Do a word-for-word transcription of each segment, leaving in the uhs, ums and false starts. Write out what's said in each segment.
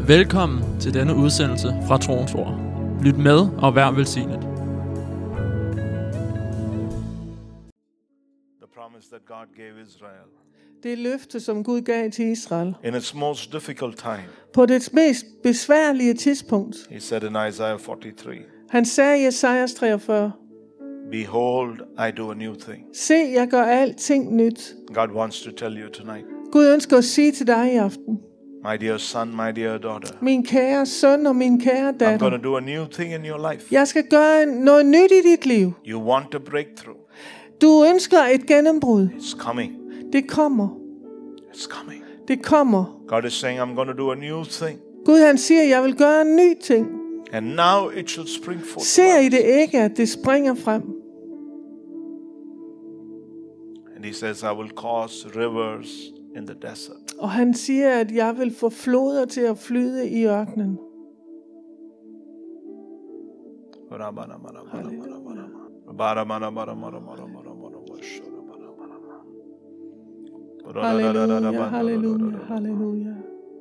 Velkommen til denne udsendelse fra Troens Ord. Lyt med og vær velsignet. The promise that God gave Israel Det løfte, som Gud gav til Israel in its most difficult time. på dets mest besværlige tidspunkt. He said in Isaiah forty-three, Han sagde i Esajas treogfyrre, "Behold, I do a new thing." se, jeg gør alting nyt. God wants to tell you tonight, Gud ønsker at sige til dig i aften, my dear son, my dear daughter, min kære søn og min kære I'm datter, going to do a new thing in your life. jeg skal gøre noget nyt i dit liv. You want a breakthrough. Du ønsker et gennembrud. It's coming. Det kommer. It's coming. Det kommer. God is saying, I'm going to do a new thing. Gud han siger, jeg vil gøre en ny ting. And now it shall spring forth. Ser I det ikke, at det springer frem? And he says, I will cause rivers in the desert. Og han siger, at jeg vil få floder til at flyde i ørkenen. Halleluja, halleluja, halleluja.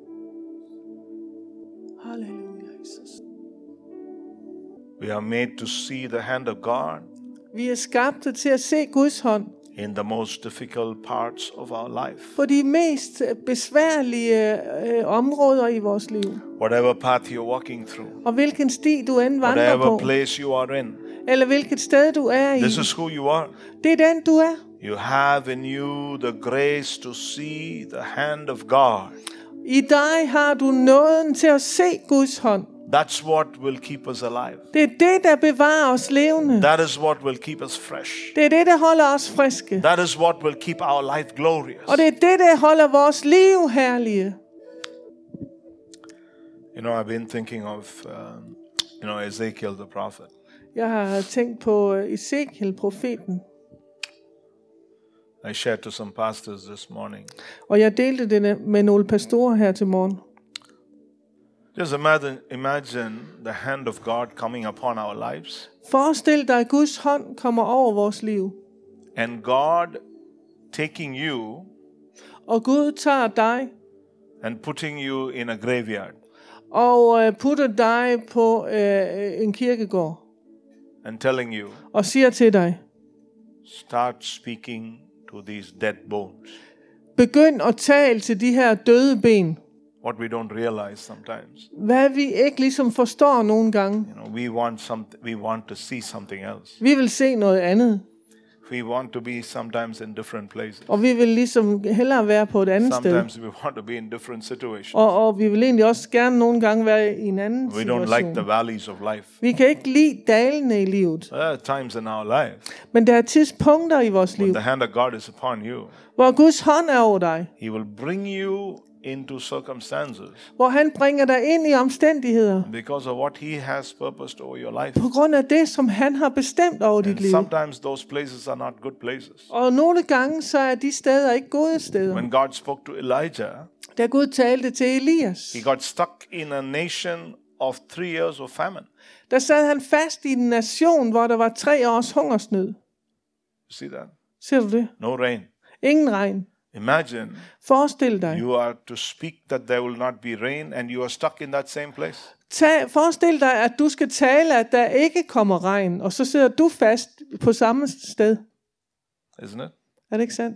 Halleluja, Jesus. We are made to see the hand of God Vi er skabte til at se Guds hånd in the most difficult parts of our life. på de mest besværlige øh, områder i vores liv. Whatever path you're walking through, Og hvilken sti du end vandrer whatever på, place you are in, eller hvilket sted du er i, this is who you are. det er den du er. You have in you the grace to see the hand of God. I dig har du nåden til at se Guds hånd. That's what will keep us alive. Det er det, der bevarer os levende. That is what will keep us fresh. Det er det, der holder os friske. That is what will keep our life glorious. Og det er det, der holder vores liv herlige. You know, I've been thinking of, um, you know, Ezekiel the prophet. Jeg har tænkt på Ezekiel, profeten. I shared to some pastors this morning. Og jeg delte det med nogle pastorer her til morgen. Just imagine, imagine the hand of God coming upon our lives. Forestil dig, at Guds hånd kommer over vores liv. And God taking you Og Gud tager dig and putting you in a graveyard og øh, putter dig på øh, en kirkegård. and telling you, Og siger til dig, start speaking to these dead bones. begynd at tale til de her døde ben. What we don't realize sometimes. Hvad vi ikke ligesom forstår nogle gange. You know, we want some, we want to see something else. Vi vil se noget andet. We want to be sometimes in different places. Og vi vil ligesom hellere være på et andet sted. Sometimes we want to be in different situations. Og, og vi vil egentlig også gerne nogle gange være i en anden We situation. don't like the valleys of life. Vi kan ikke lide dalene i livet. There are times in our life Men der er tidspunkter i vores liv, when the hand of God is upon you. hvor Guds hånd er over dig. He will bring you into circumstances Hvor han bringer dig ind i omstændigheder. because of what he has purposed over your life. På grund af det, som han har bestemt over dit And liv. sometimes those places are not good places. Og nogle gange, så er de steder ikke gode steder. When God spoke to Elijah, Da Gud talte til Elias, he got stuck in a nation of three years of famine. der sad han fast i en nation, hvor der var tre års hungersnød. You see that? Ser du det? No rain. Ingen regn. Imagine Forestil dig. you are to speak that there will not be rain and you are stuck in that same place. Tag, forestil dig, at du skal tale, at der ikke kommer regn, og så sidder du fast på samme sted. Isn't it? Er det ikke sandt?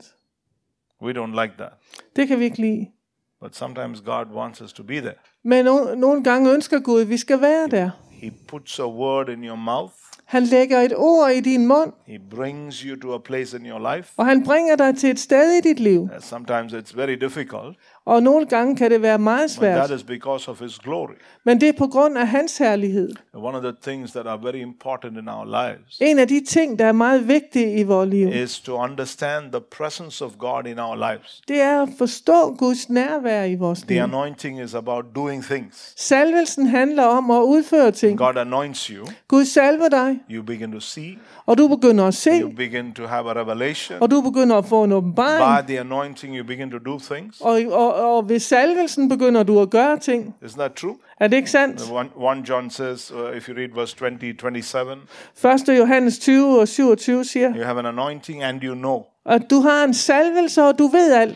We don't like that. Det kan vi ikke lide. But sometimes God wants us to be there. Men no, nogle gange ønsker Gud, at vi skal være der. He puts a word in your mouth. Han lægger et ord i din mund, He brings you to a place in your life. og han bringer dig til et sted i dit liv. Uh, Sometimes it's very difficult, Og nogle gange kan det være meget but svært, that is because of His glory. men det er på grund af hans herlighed. And one of the things that are very important in our lives En af de ting, der er meget vigtige i vores liv, is to understand the presence of God in our lives. det er at forstå Guds nærvær i vores The liv. anointing is about doing things. Salvelsen handler om at udføre ting. God anoints you, Gud salver dig, you begin to see, og du begynder at se, you begin to have a revelation. og du begynder at få en åbenbaring. By the anointing, you begin to do things. Og, og, og ved salvelsen begynder du at gøre ting. Isn't that true? Er det ikke sandt? One John says, uh, if you read verse twenty, twenty-seven, første Johannes tyve og syvogtyve siger, you have an anointing and you know. at du har en salvelse, og du ved alt.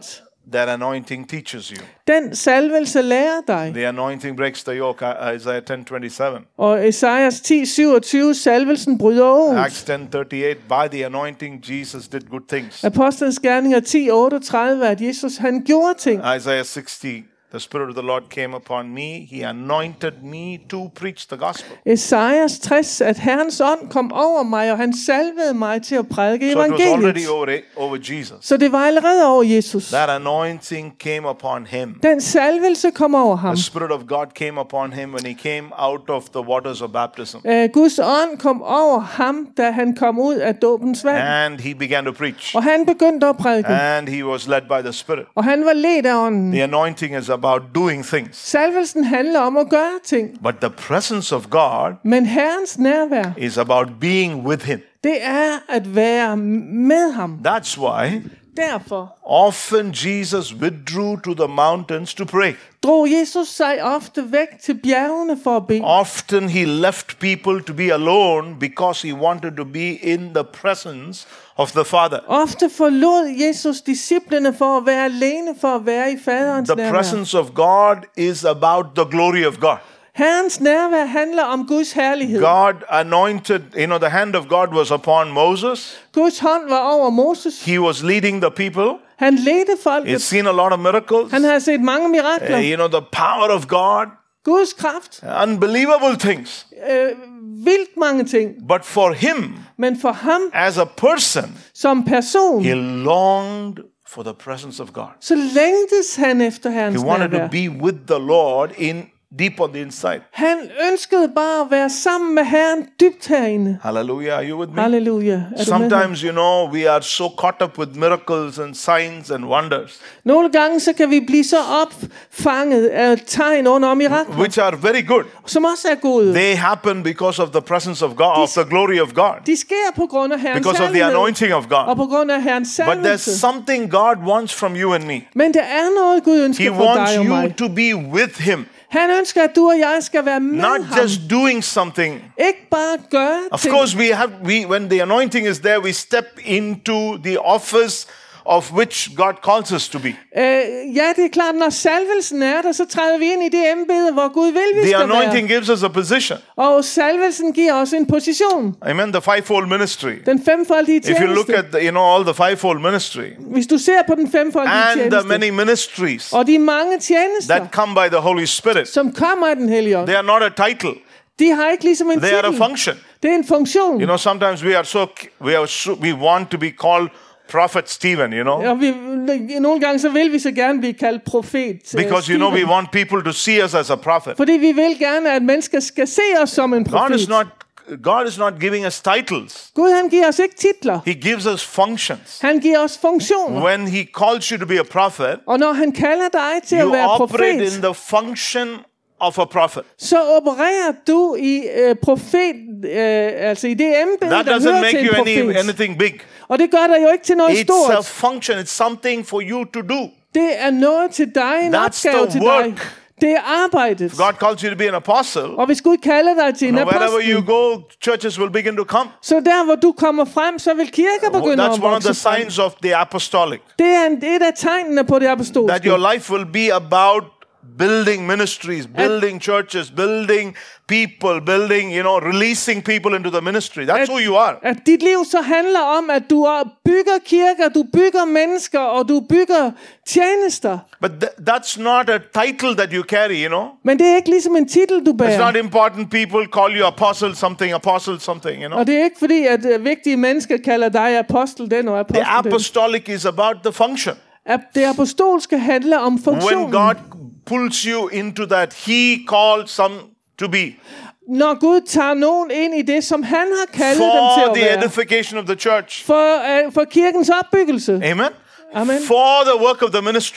That anointing teaches you. Den salvelse lærer dig. The anointing breaks the yoke. uh, Isaiah ten twenty-seven. Og Esajas ti syvogtyve, salvelsen bryder året. Acts ten thirty-eight. By the anointing Jesus did good things. Apostlenes gerninger ti otteogtredive, at Jesus han gjorde ting. Isaiah sixty. The Spirit of the Lord came upon me. He anointed me to preach the gospel. Esajas tres, at Herrens ånd kom over mig, og han salvede mig til at prædike So it was already evangeliet. over, over Jesus. Så det var allerede over Jesus. That anointing came upon him. Den salvelse kom over ham. The Spirit of God came upon him when he came out of the waters of baptism. Uh, Guds ånd kom over ham, da han kom ud af dåbens vand. And he began to preach. Og han begyndte at prædike. And he was led by the Spirit. Og han var ledt af ånden. The anointing is about doing things. Salvelsen handler om at gøre ting. But the presence of God Men Herrens nærvær, is about being with him. det er at være med ham. That's why Derfor often Jesus withdrew to the mountains to pray. drog Jesus sig ofte væk til bjergene for at bede. Often he left people to be alone because he wanted to be in the presence of the Father. Ofte forlod Jesus disciplene for at være alene, for at være i faderens The nærvær. presence of God is about the glory of God. Herrens nærvær handler om Guds herlighed. God anointed, you know, the hand of God was upon Moses. Guds hånd var over Moses. He was leading the people. Han ledte He'd folket. seen a lot of miracles. Han havde set mange Uh, mirakler. you know, the power of God, Guds kraft. unbelievable things. Øh, vildt mange ting. But for him, Men for ham as a person, som person, he longed for the presence of God. så længtes han efter He Herrens wanted nærvær. to be with the Lord in deep on the inside. Han ønskede bare at være sammen med Herren dybt herinde. Hallelujah. Are you with me? Halleluja. Er du med ham? Sometimes, you know, we are so caught up with miracles and signs and wonders, Nogle gange så kan vi blive så opfanget af tegn under mirakler, which are very good. som også er gode. They happen because of the presence of God, of the glory of God, De sker på grund af Herrens because of the herlighed anointing of og God. på grund af Herrens But there's salvelse. something God wants from you and me. Men der er noget, Gud He ønsker for wants dig og you mig. to be with him, Han ønsker, at du og jeg skal være med not ham. just doing something. Ikke bare gøre Of ting. course, we have we when the anointing is there, we step into the office of which God calls us to be. Øh, ja, det er klart, når salvelsen er der, så træder vi ind i det embede, hvor Gud vil, vi The skal anointing være. gives us a position. Og salvelsen giver os en position. Amen. The fivefold ministry. Den femfoldige If you look tjeneste. at the, you know all the fivefold ministry Hvis du ser på den femfoldige and the tjeneste, many ministries og de mange tjenester, that come by the Holy Spirit, som kommer af den hellige ånd, they are not a title. de har ikke ligesom en They are a titel. function. Det er en funktion. You know, sometimes we are so we are so, we want to be called Prophet Stephen. You know, Og vi, nogle gange så vil vi så gerne blive kaldt profet. øh, because you know we Stephen. want people to see us as a prophet. Fordi vi vil gerne, at mennesker skal se os som en God profet. is not God is not giving us titles. Gud han giver os ikke titler. He gives us functions. Han giver os funktioner. When he calls you to be a prophet, Og når han kalder dig til you at være operate profet, in the function of a prophet. så opererer du i øh, profet, øh, altså i det embede, That der doesn't hører make til en you any, profet. anything big. Og det gør dig jo ikke til noget It's a stort. function. It's something for you to do. Det er noget til dig, en That's opgave the til work. dig. Det er arbejdet. God calls you to be an apostle. Og hvis Gud kalder dig til en Now, wherever you apostel, go, churches will begin to come. så der hvor du kommer frem, så vil kirker begynde That's at one of the vokse frem. signs of the apostolic. Det er en, et af tegnene på det That apostolske. your life will be about building ministries, building churches, building people, building, you know, releasing people into the ministry. That's who you are. At dit liv så handler om, at du bygger kirker, du bygger mennesker, og du bygger tjenester. But th- that's not a title that you carry, you know. Men det er ikke ligesom en titel, du It's bærer. not important people call you apostle something, apostle something, you know. Og det er ikke fordi, at uh, vigtige mennesker kalder dig apostel den og The apostel den. apostolic is about the function. At det apostolske handler om When funktionen. God pulls you into that, he called some to be Når Gud tager nogen ind i det, som han har kaldet dem til for at the være. edification of the church. For, uh, for kirkens opbyggelse. Amen. Amen. For the work of the ministry.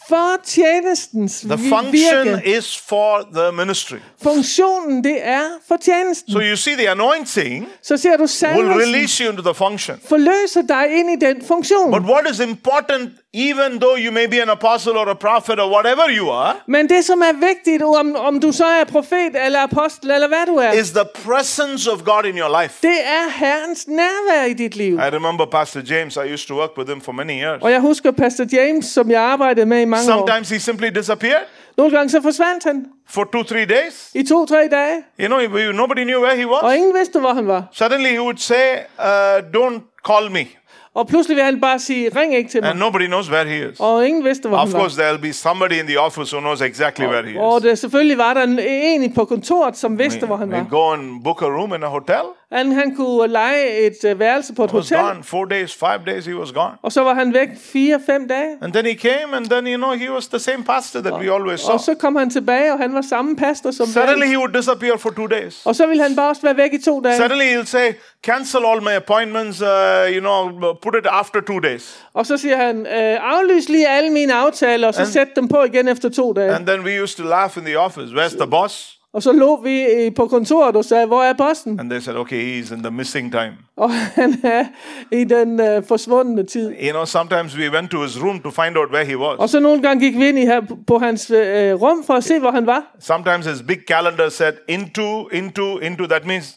For tjenestens The vi- function virke. is for the ministry. Funktionen, det er for tjenesten. So you see, the anointing Så ser du will salvelsen release you into the function. forløser dig ind i den funktion. But what is important, even though you may be an apostle or a prophet or whatever you are, Men det, som er vigtigt, om, om du så er profet eller apostel eller hvad du er, is the presence of God in your life. det er Herrens nærvær i dit liv. I remember Pastor James. I used to work with him for many years. Og jeg husker Pastor James, som jeg arbejdede med i mange år. Sometimes he simply disappeared Nogle gange så forsvandt han for two, three days. i to-tre dage, You know, he- nobody knew where he og was. ingen vidste, hvor han var. Suddenly he would say, uh, don't call me. Og pludselig vil han bare sige, ring ikke til mig. And nobody knows where he is. Og ingen vidste, hvor Of han var. course, there'll be somebody in the office who knows exactly where he Og is. det, selvfølgelig var der en, en på kontoret, som vidste, hvor han We var. go and book a room in a hotel. Han, han kunne lege et uh, værelse på et He was hotel, gone. Four days, five days, he was gone. og så var han væk fire-fem dage. And then he came, and then, you know, he was the same pastor that we always saw. Og så kom han tilbage, og han var samme pastor som Suddenly hver. he would disappear for two days. Og så ville han bare også være væk i to dage. Suddenly he'll say, cancel all my appointments, uh, you know, put it after two days. Og så siger han, øh, aflys lige alle mine aftaler, og så And- sæt dem på igen efter to dage. And then we used to laugh in the office. Where's the boss? Og så lå vi øh, på kontoret og sagde, hvor er bossen? And they said, okay, he's in the missing time. Og han er i den øh, forsvundne tid. You know, sometimes we went to his room to find out where he was. Og så nogle gange gik vi ind i her på hans øh, rum for at se, hvor han var. Sometimes his big calendar said into, into, into. That means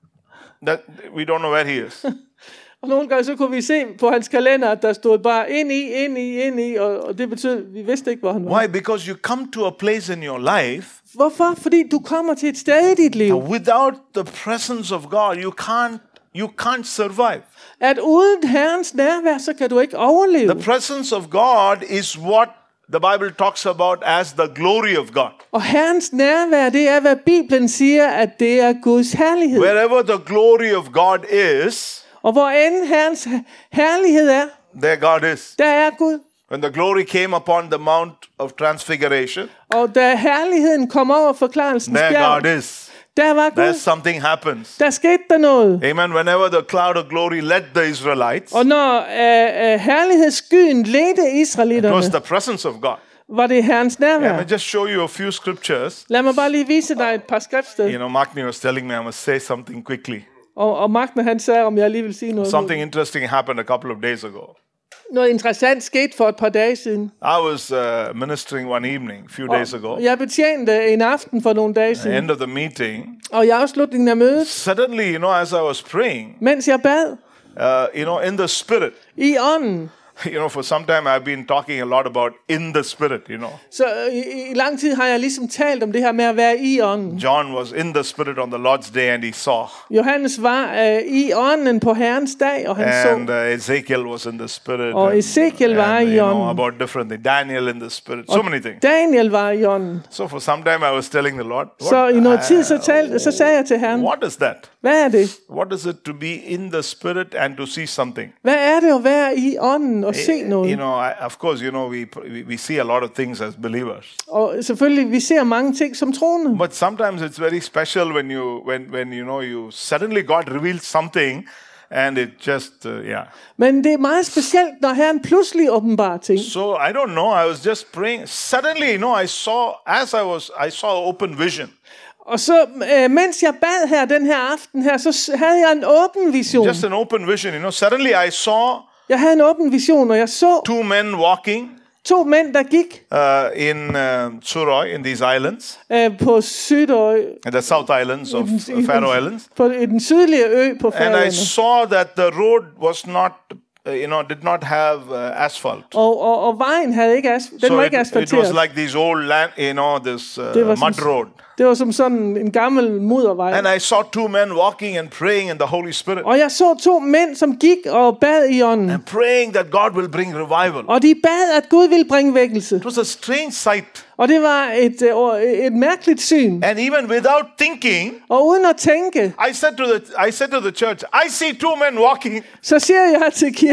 that we don't know where he is. Og nogle gange så kunne vi se på hans kalender, at der stod bare ind i, ind i, ind i, og, og det betød, at vi vidste ikke, hvor han var. Why? Because you come to a place in your life, Hvorfor? Fordi du kommer til et sted i dit liv, without the presence of God, you can't, you can't survive. at uden Herrens nærvær, så kan du ikke overleve. The presence of God is what the Bible talks about as the glory of God. Og Herrens nærvær, det er, hvad Bibelen siger, at det er Guds herlighed. Wherever the glory of God is, Og hvor end Herrens herlighed er, there God is. der er Gud. When the glory came upon the Mount of Transfiguration, Og da herligheden kom over forklarelsens there God bjerg, is. der var There Gud. something happens. Der skete der noget. Amen. Whenever the cloud of glory led the Israelites, Og når øh, øh, herlighedsskyen ledte it was israelitterne, the presence of God. var det Herrens Yeah, nærvær. let me just show you a few scriptures. Lad mig bare lige vise dig et par skriftsteder. You know, Magni was telling me I must say something quickly. Og, og Magne, han sagde, om jeg lige vil sige noget. Something interesting happened a couple of days ago. Noget interessant skete for et par dage siden. I was uh, ministering one evening, a few days ago. Jeg betjente en aften for nogle dage At the siden. end of the meeting, Og i afslutningen af mødet, suddenly, you know, as I was praying, mens jeg bad uh, you know, in the spirit, i ånden, you know, for some time I've been talking a lot about in the spirit, you know. så i, i lang tid har jeg ligesom talt om det her med at være i ånden. John was in the spirit on the Lord's day and he saw. Johannes var øh, i ånden på Herrens dag, og han And så. uh, Ezekiel was in the spirit. Og and, Ezekiel var and, i you know, ånden. about different things. Daniel in the spirit. So many things. Daniel var i ånden. So for some time I was telling the Lord, Så i noget tid, så, uh, talte, så sagde jeg til Herren, what is that? hvad er det? What is it to be in the spirit and to see something? Hvad er det at være i ånden og se You noget? know, I, of course, you know, we, we we see a lot of things as believers. Og selvfølgelig, vi ser mange ting som troende. But sometimes it's very special when you when when you know you suddenly God reveals something and it just uh, yeah. Men det er meget specielt, når Herren pludselig åbenbarer ting. So I don't know, I was just praying. Suddenly, you know, I saw as I was I saw open vision. Og så, øh, mens jeg bad her den her aften her, så s- havde jeg en åben vision. Just an open vision, you know. Suddenly I saw Jeg havde en åben vision, og jeg så two men walking to mænd, der gik uh, in uh, Suroy, in these islands, øh, på Sydø, in the South Islands of i den- Faroe Islands. på i den sydlige ø på And I Færøerne. saw that the road was not, uh, you know, did not have uh, asphalt. Og, og, og vejen havde ikke as, den So var it, ikke it asfalteret. was like these old land, you know, this uh, Det var som- mud road. Det var som sådan en gammel muddervej. And I saw two men walking and praying in the Holy Spirit. Og jeg så to mænd, som gik og bad i ånden. And praying that God will bring revival. Og de bad, at Gud ville bringe vækkelse. It was a strange sight. Og det var et, øh, et mærkeligt syn. And even without thinking, Og uden at tænke, I said to the I said to the church, I see two men walking. så siger jeg til kirken,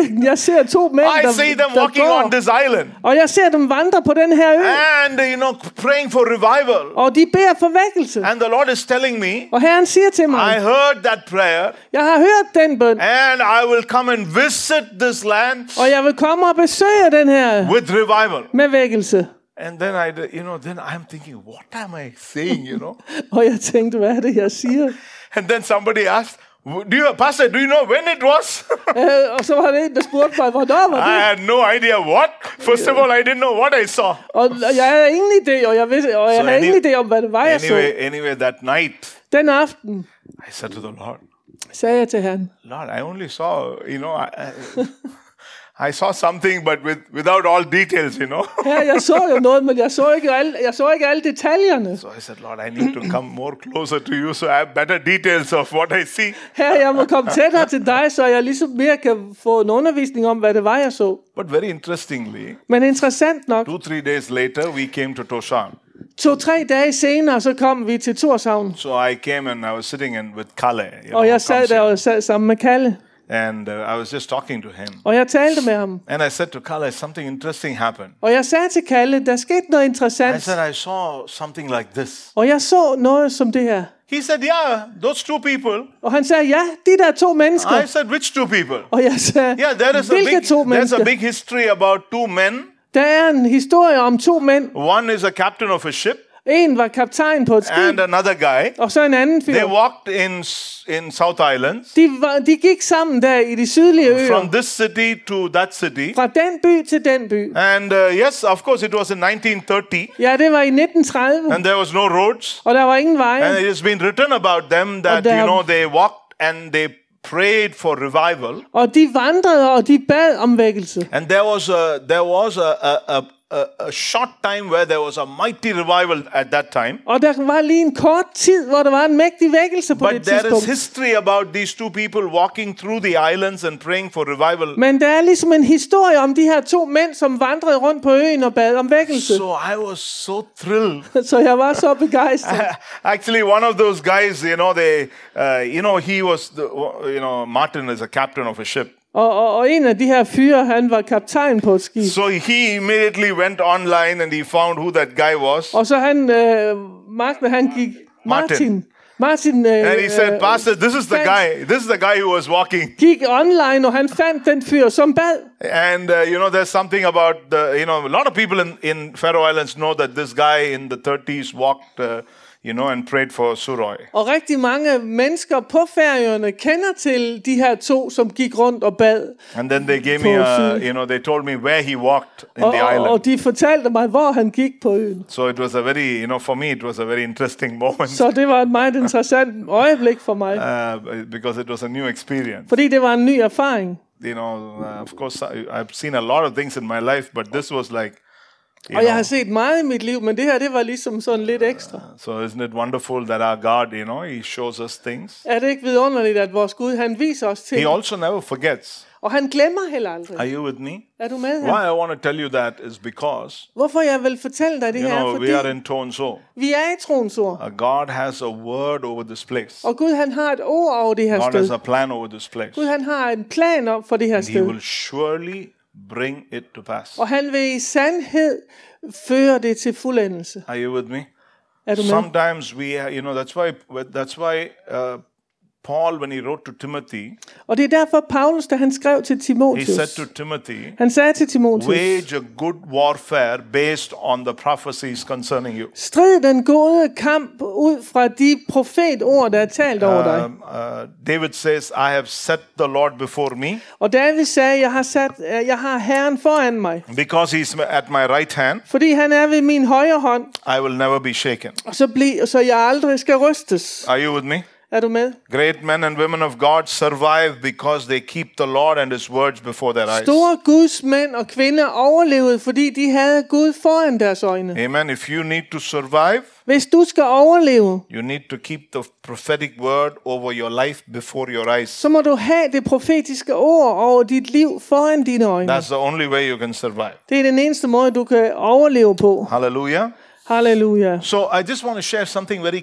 kirken. Jeg ser to mænd, I der, see them der walking går. on this island. Og jeg ser dem vandre på den her ø. And, you know, praying for revival. Og de beder for vækkelse. And the Lord is telling me, Og Herren siger til I mig, heard that prayer. jeg har hørt den bøn. And I will come and visit this land Og jeg vil komme og besøge den her with revival. med vækkelse. And then I, you know, then I'm thinking, what am I saying, you know? Og jeg tænkte, hvad er det, jeg siger? And then somebody asked, do you, Pastor, do you know when it was? øh, og så var det en, der spurgte mig, hvornår var I det? had no idea what. First of all, I didn't know what I saw. Og jeg havde ingen idé, og jeg, vidste, og jeg So havde any- ingen idé om, hvad det var, jeg så. Anyway, anyway, that night, Den aften I said to the Lord, sagde jeg til Herren, Lord, I only saw, you know, I, I, I saw something, but with, without all details, you know. her, jeg så jo noget, men jeg så ikke alle, jeg så ikke alle detaljerne. So I said, Lord, I need to come more closer to you so I have better details of what I see. Her, jeg må komme tættere til dig, så jeg ligesom mere kan få en undervisning om, hvad det var, jeg så. But very interestingly, Men interessant nok, two, three days later, we came to Toshan. to-tre dage senere, så kom vi til Torshavn. So I came and I was sitting in with Kalle. You know, Og jeg sad comes der here. og sad sammen med Kalle. And uh, I was just talking to him. Og jeg talte med ham. And I said to Kalle, something interesting happened. Og jeg sagde til Kalle, der skete noget I interessant. said, I saw something like this. Og jeg så noget som det her. He said, yeah, those two people. Og han sagde, ja, de der to mennesker. I said, which two people? Og jeg sagde, Yeah, there is a hvilke big, to there's a mennesker? big history about two men. Der er en historie om to mænd. One is a captain of a ship, En var kaptajn på et skib, and another guy. og så en anden They fyr. walked in in South Islands De, var, de gik sammen der i de sydlige øer. from this city to that city. Fra den by til den by. And uh, yes, of course, it was in nineteen thirty, Ja, det var i nitten tredive, and there was no roads. og der var ingen veje. And it has been written about them that, there- you know, they walked and they prayed for revival. Og de vandrede, og de bad om vækkelse. And there was a, there was a, a, a, a, a short time where there was a mighty revival at that time. Og der var lige en kort tid, hvor der var en mægtig vækkelse på But det there is tidspunkt. history about these two people walking through the islands and praying for revival. Men der er ligesom en historie om de her to mænd, som vandrede rundt på øen og bad om vækkelse. So I was so thrilled. Så jeg var så begejstret. Actually, one of those guys, you know, they, uh, you know, he was, the, you know, Martin is a captain of a ship. Og, og, og en af de her fyre, han var kaptajn på et skib. So he immediately went online and he found who that guy was. Og så han, øh, Martin, han gik, Martin, Martin øh, And he said, øh, Pastor, this is the fandt- guy. This is the guy who was walking. gik online, og han fandt den fyr, som bad. And, uh, you know, there's something about, the, you know, a lot of people in, in Faroe Islands know that this guy in the thirties walked, uh, you know, and prayed for Suroy. Og rigtig mange mennesker på Færøerne kender til de her to, som gik rundt og bad. And then they gave For me, a, Suroy. you know, they told me where he walked in Og, the og, island. og de fortalte mig, hvor han gik på øen. So it was a very, you know, for me, it was a very interesting moment. Så det var et meget interessant øjeblik for mig. Uh, because it was a new experience. Fordi det var en ny erfaring. You know, uh, of course, I, I've seen a lot of things in my life, but this was like, you Og jeg know, har set meget i mit liv, men det her, det var ligesom sådan lidt ekstra. so isn't it wonderful that our God, you know, He shows us things. Er det ikke vidunderligt, at vores Gud, han viser os til, He also never forgets. og han glemmer heller aldrig. Are you with me? Er du med Why her? I want to tell you that is because, Hvorfor jeg vil fortælle dig det you her, know, fordi we are in Tonso. vi er i troens ord. Uh, God has a word over this place. Og Gud, han har et ord over det her God has sted. a plan over this place. Gud, han har en plan op for det her And He sted. will surely bring it to pass. Og han vil i sandhed føre det til fuldendelse. Are you with me? Er du med? Sometimes we, uh, you know, that's why, that's why uh, Paul, when he wrote to Timothy, Og det er derfor, Paulus, da han skrev til he Timotheus, said to Timothy, han sagde til Timotheus, wage a good warfare based on the prophecies concerning you. strid den gode kamp ud fra de profetord, der er talt over dig. Um, uh, David says, I have set the Lord before me, Og David sagde, jeg har, sat, jeg har Herren foran mig, because he's at my right hand, fordi han er ved min højre hånd, I will never be shaken. og så, bli, så jeg aldrig skal rystes. Are you with me? Er du med? Great men and women of God survive because they keep the Lord and His words before their eyes. Store Guds mænd og kvinder overlevede, fordi de havde Gud foran deres øjne. Amen. If you need to survive, Hvis du skal overleve, you need to keep the prophetic word over your life before your eyes. så må du have det profetiske ord over dit liv foran dine øjne. That's the only way you can survive. Det er den eneste måde, du kan overleve på. Hallelujah. Halleluja. So I just want to share something very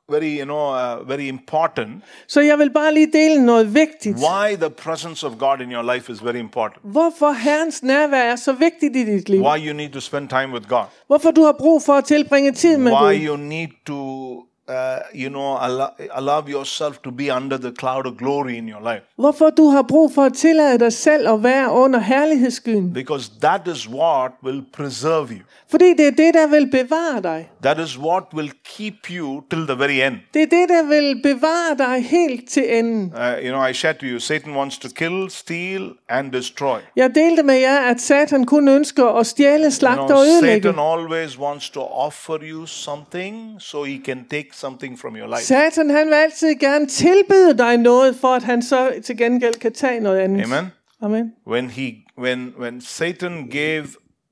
very, you know, uh, very important. Så jeg vil bare lige dele noget vigtigt. Why the presence of God in your life is very important. Hvorfor Herrens nærvær er så vigtigt i dit liv. Why you need to spend time with God. Hvorfor du har brug for at tilbringe tid med Why Gud. you need to, uh, you know, allow, allow yourself to be under the cloud of glory in your life. Hvorfor du har brug for at tillade dig selv at være under herlighedsskyen. Because that is what will preserve you. Fordi det er det, der vil bevare dig. That is what will keep you till the very end. Det er det, der vil bevare dig helt til enden. Uh, you know, I said to you, Satan wants to kill, steal, and destroy. Jeg delte med jer, at Satan kun ønsker at stjæle, You slagte know, og ødelægge. Satan always wants to offer you something so he can take something from your life. Satan, han vil altid gerne tilbyde dig noget, for at han så til gengæld kan tage noget andet. Amen. Amen. When he, when, when Satan gave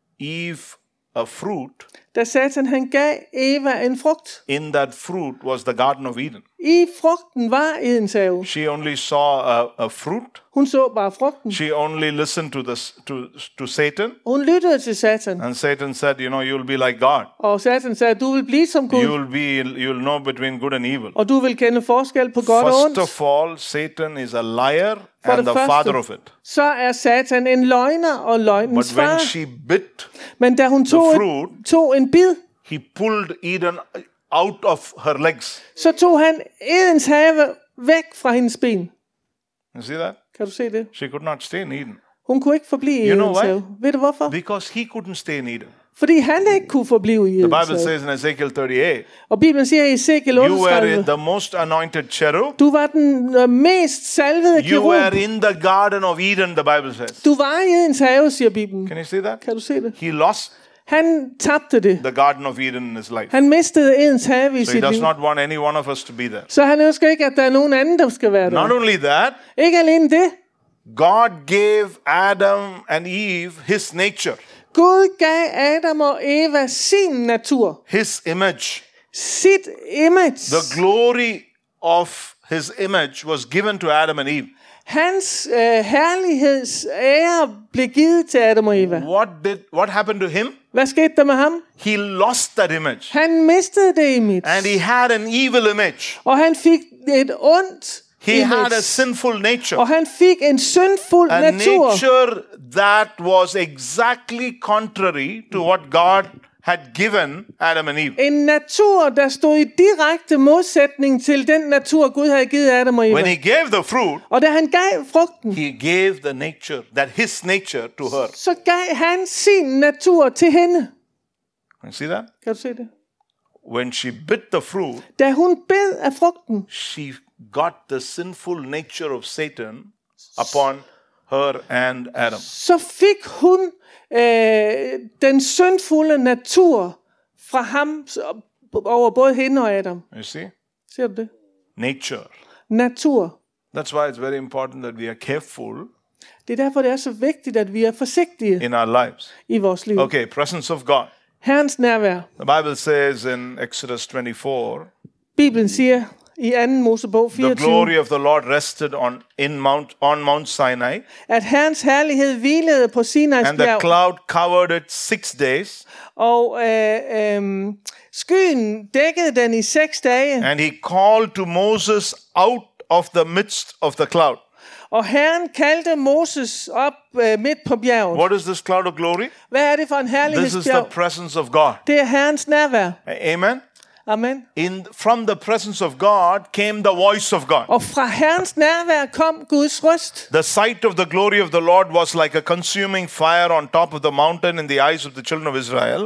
Eve a fruit, Da Satan han gav Eva en frugt. in that fruit was the Garden of Eden. I frugten var Edens have. She only saw a, a fruit. Hun så bare frugten. She only listened to, the, to, to Satan. Hun lyttede til Satan. And Satan said, you know, you'll be like God. Og Satan sagde, du vil blive som Gud. You will be, you'll know between good and evil. Og du vil kende forskel på godt og First ondt. of all, Satan is a liar For and det the første, father of it. så er Satan en løgner og løgnens But when far. she bit, Men da hun tog, the fruit, et, tog en bid, he pulled Eden out of her legs. så tog han Edens have væk fra hendes ben. You see that? Kan du se det? She could not stay in Eden. Hun kunne ikke forblive i You know Edens why? have. Ved du hvorfor? Because he couldn't stay in Eden. Fordi han ikke kunne forblive i The Edens Bible have. says in Ezekiel thirty-eight, Og Bibelen siger i Ezekiel you were otteogtredive, the most anointed cherub. du var den øh, mest salvede You kerub. were in the Garden of Eden, the Bible says. Du var i Edens have, siger Bibelen. Can you see that? Kan du se det? He lost Han tabte det. the Garden of Eden in his life. Han mistede Edens have i So he sit does liv. not want any one of us to be there. Så han ønsker ikke, at der er nogen anden, der skal være Not der. only that, Ikke alene det. God gave Adam and Eve his nature, Gud gav Adam og Eva sin natur. his image. Sit image. The glory of his image was given to Adam and Eve. Hans øh, herligheds ære blev givet til Adam og Eva. What did what happened to him? Hvad skete der med ham? He lost that image. Han mistede det image. And he had an evil image. Og han fik et ondt He image. had a sinful nature. Og han fik en syndfuld A natur. nature that was exactly contrary to what God had given Adam and Eve. En natur, der stod i direkte modsætning til den natur, Gud havde givet Adam og Eva. When he gave the fruit, Og da han gav frugten, he gave the nature, that his nature to her. så gav han sin natur til hende. Can you see that? Kan du se det? When she bit the fruit, Da hun bed af frugten, she got the sinful nature of Satan upon her and Adam. så fik hun øh, den syndfulde natur fra ham s- over både hende og Adam. You see? Ser du det? Nature. Natur. That's why it's very important that we are careful Det er derfor, det er så vigtigt, at vi er forsigtige in our lives. i vores liv. Okay, presence of God. Herrens nærvær. The Bible says in Exodus twenty-four, Bibelen siger i anden Mosebog the fireogtyve, glory of the Lord rested on in Mount on Mount Sinai, at Herrens herlighed hvilede på Sinais and the bjerg, cloud covered it six days, og øh, øh, skyen dækkede den i seks dage, and he called to Moses out of the midst of the cloud. og Herren kaldte Moses op øh, midt på bjerget. What is this cloud of glory? Hvad er det for en This is the herlighedsbjerg? presence of God. Det er Herrens nærvær. Amen. Amen. In from the presence of God came the voice of God. Og fra Herrens nærvær kom Guds røst. The sight of the glory of the Lord was like a consuming fire on top of the mountain in the eyes of the children of Israel.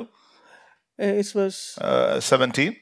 Uh, it was Uh, seventeen.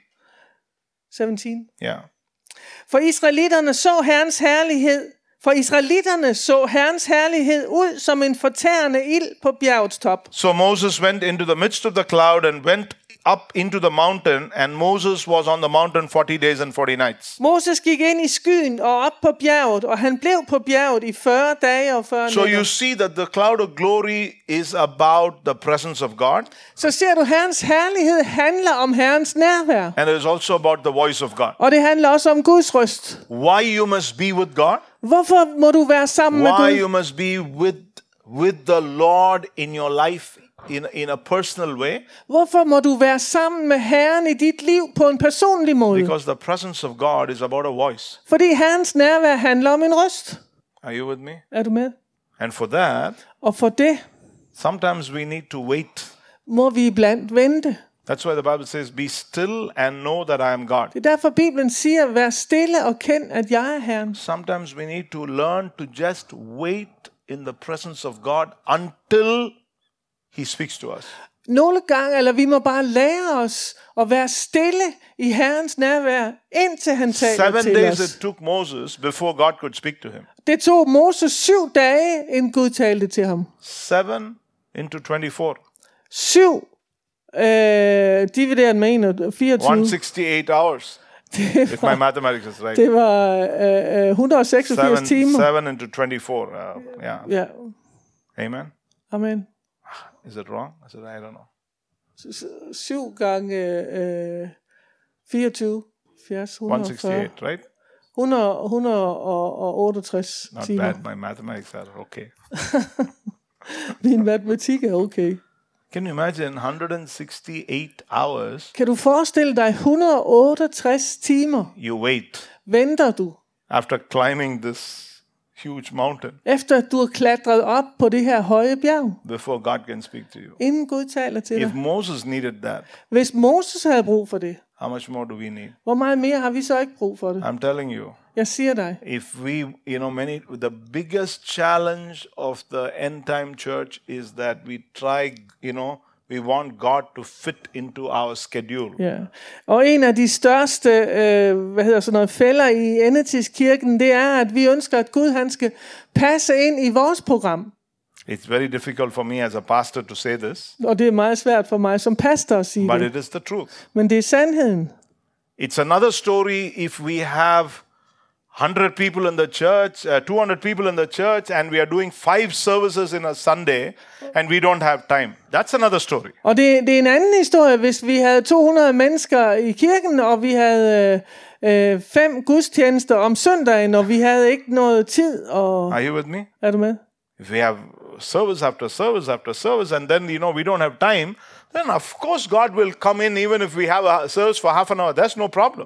sytten. Yeah. For israelitterne så Herrens herlighed. For israelitterne så Herrens herlighed ud som en fortærende ild på bjergets top. So Moses went into the midst of the cloud and went up into the mountain, and Moses was on the mountain forty days and forty nights. Moses gik ind i skyen og op på bjerget, og han blev på bjerget i fyrre dage og fyrre So you nætter. see that the cloud of glory is about the presence of God, Så ser du, Herrens herlighed handler om Herrens nærvær. and it is also about the voice of God. Og det handler også om Guds røst. Why you must be with God? Hvorfor må du være sammen med Why Gud? you must be with with the Lord in your life in, in a personal way? Hvorfor må du være sammen med Herren i dit liv på en personlig måde? Because the presence of God is about a voice. Fordi Herrens nærvær handler om en røst. Are you with me? Er du med? And for that, Og for det sometimes we need to wait. må vi iblandt vente. That's why the Bible says, be still and know that I am God. Det er derfor Bibelen siger, vær stille og kend, at jeg er Herren. Sometimes we need to learn to just wait in the presence of God until He speaks to us. Nogle gange, eller vi må bare lære os at være stille i Herrens nærvær, indtil han taler Seven til days os. it took Moses before God could speak to him. Det tog Moses syv dage, inden Gud talte til ham. Seven into twenty-four. Syv, øh, divideret med en og fireogtyve. one hundred sixty-eight hours. If my mathematics is right. Det var øh, øh, et hundrede og seksogfirs Seven, timer. seven into twenty-four. Uh, yeah. Ja, Amen. amen. Is it wrong? I said, I don't know. S- Syv gange øh, fireogtyve, firs, one hundred hundrede og fyrre, sixty-eight, right? hundrede, hundrede og otteogtres Not timer. bad. My mathematics are okay. Min matematik er okay. Can you imagine one hundred sixty-eight hours Kan du forestille dig et hundrede og otteogtres timer you wait venter du, after climbing this huge mountain efter at du har klatret op på det her høje bjerg, before God can speak to you? inden Gud taler til If dig? Moses needed that, Hvis Moses havde brug for det, how much more do we need? hvor meget mere har vi så ikke brug for det? I'm telling you, Jeg siger dig, if we, you know, many, the biggest challenge of the end time church is that we try, you know, we want God to fit into our schedule. ja. Og en af de største, øh, hvad hedder sådan noget, fælder i endetidskirken, det er, at vi ønsker, at Gud han skal passe ind i vores program. It's very difficult for me as a pastor to say this, Og det er meget svært for mig som pastor at sige but det. it is the truth. Men det er sandheden. It's another story if we have one hundred people in the church, uh, two hundred people in the church, and we are doing five services in a Sunday, and we don't have time. That's another story. Og det, det er en anden historie, hvis vi havde to hundrede mennesker i kirken, og vi havde øh, øh, fem gudstjenester om søndagen, og vi havde ikke noget tid. Og Are you with me? er du med? If we have service after service after service, and then, you know, we don't have time, then of course God will come in even if we have a service for half an hour. That's no problem.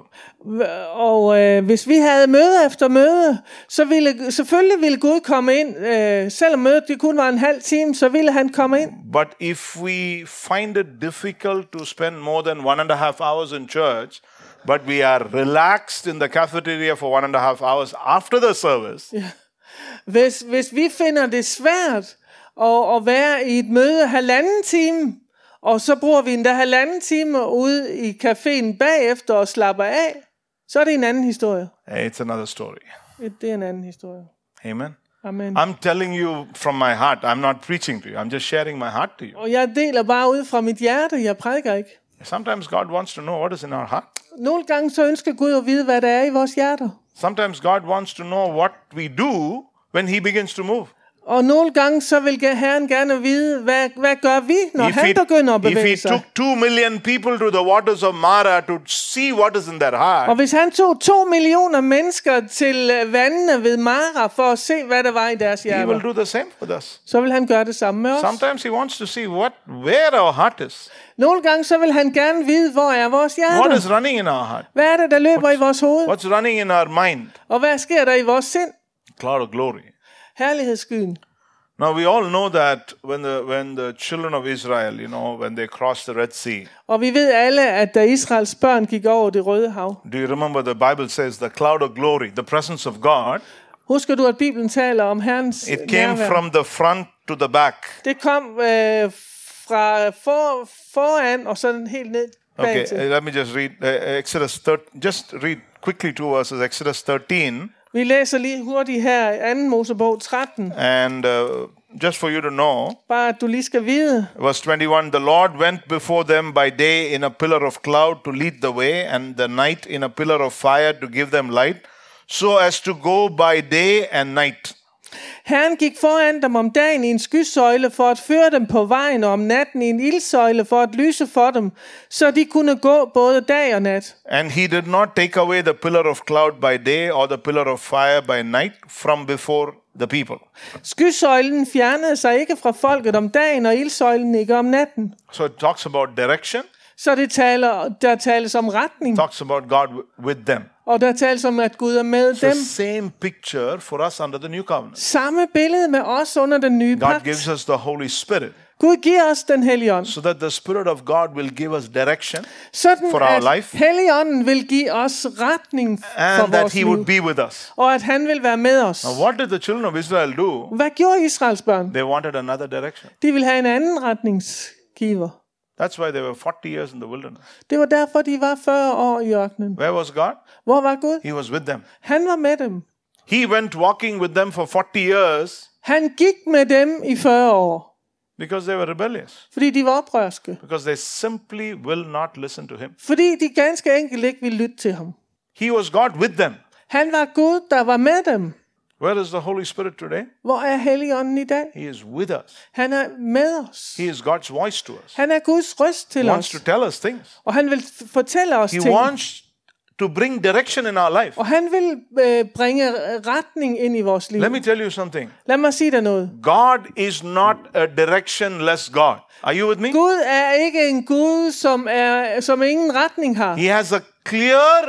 Og øh, hvis vi havde møde efter møde, så ville selvfølgelig ville Gud komme ind. Øh, selvom mødet det kun var en halv time, så ville han komme ind. But if we find it difficult to spend more than one and a half hours in church, but we are relaxed in the cafeteria for one and a half hours after the service, Ja. Hvis, hvis vi finder det svært at, at være i et møde halvanden time, og så bruger vi endda halvanden time ude i caféen bagefter og slapper af, så er det en anden historie. it's another story. Det er en anden historie. Amen. Amen. I'm telling you from my heart. I'm not preaching to you. I'm just sharing my heart to you. Og jeg deler bare ud fra mit hjerte, jeg prædiker ikke. Sometimes God wants to know what is in our heart. Nogle gange så ønsker Gud at vide, hvad der er i vores hjerter. Sometimes God wants to know what we do when He begins to move. Og nogle gange så vil Herren gerne vide, hvad, hvad gør vi, når If han he, begynder at if bevæge he sig. took two million people to the waters of Mara to see what is in their heart, Og hvis han tog to millioner mennesker til øh, vandene ved Mara for at se, hvad der var i deres He will hjerter, do the same with us. så vil han gøre det samme med os. Sometimes He wants to see what, where our heart is. Nogle gange så vil han gerne vide, hvor er vores What hjerter. is running in our heart? Hvad er det, der løber i vores hoved? What's running in our mind? Og hvad sker der i vores sind? Cloud of glory. Herlighedsskyen. Now we all know that when the when the children of Israel, you know, when they crossed the Red Sea, Og vi ved alle, at da Israels børn gik over det røde hav, do you remember the Bible says the cloud of glory, the presence of God, husker du, at Bibelen taler om Herrens it came nærvær? from the front to the back. Det kom øh, fra for, foran og sådan helt ned Okay, bag til. uh, let me just read uh, Exodus thirteen. Just read quickly two verses. Exodus thirteen, Vi læser lige hurtigt her i anden Mosebog tretten. and uh, just for you to know, Bare at du lige skal vide. verse twenty-one: The Lord went before them by day in a pillar of cloud to lead the way, and the night in a pillar of fire to give them light, so as to go by day and night. Herren gik foran dem om dagen i en skysøjle for at føre dem på vejen, og om natten i en ildsøjle for at lyse for dem, så de kunne gå både dag og nat. And he did not take away the pillar of cloud by day or the pillar of fire by night from before the people. Skysøjlen fjernede sig ikke fra folket om dagen, og ildsøjlen ikke om natten. So it talks about direction, Så det taler, der tales om retning, talks about God w- with them. og der tales om, at Gud er med It's the dem. same picture for us under the new covenant. Samme billede med os under den nye God pagt. gives us the Holy Spirit Gud giver os den hellige ånd, so that the Spirit of God will give us direction sådan for our at life, Helligånden vil give os retning for and that vores he would liv, be with us. og at han vil være med os. Now, what did the children of Israel do? Hvad gjorde Israels børn? They wanted another direction. De ville have en anden retningsgiver. That's why they were forty years in the wilderness. Det var derfor, de var fyrre år i ørkenen. Where was God? Hvor var Gud? He was with them. Han var med dem. He went walking with them for forty years Han gik med dem i fyrre år, because they were rebellious. fordi de var oprørske. Because they simply will not listen to him. Fordi de ganske enkelt ikke ville lytte til ham. He was God with them. Han var Gud, der var med dem. Where is the Holy Spirit today? Hvor er Helligånden i dag? He is with us. Han er med os. He is God's voice to us. Han er Guds røst til He wants os. to tell us things. Og han vil f- fortælle os He ting. wants to bring direction in our life. Og han vil øh, bringe retning ind i vores liv. Let me tell you something. Lad mig sige dig noget. God is not a directionless God. Are you with me? Gud er ikke en Gud, som, er, som ingen retning har. He has a clear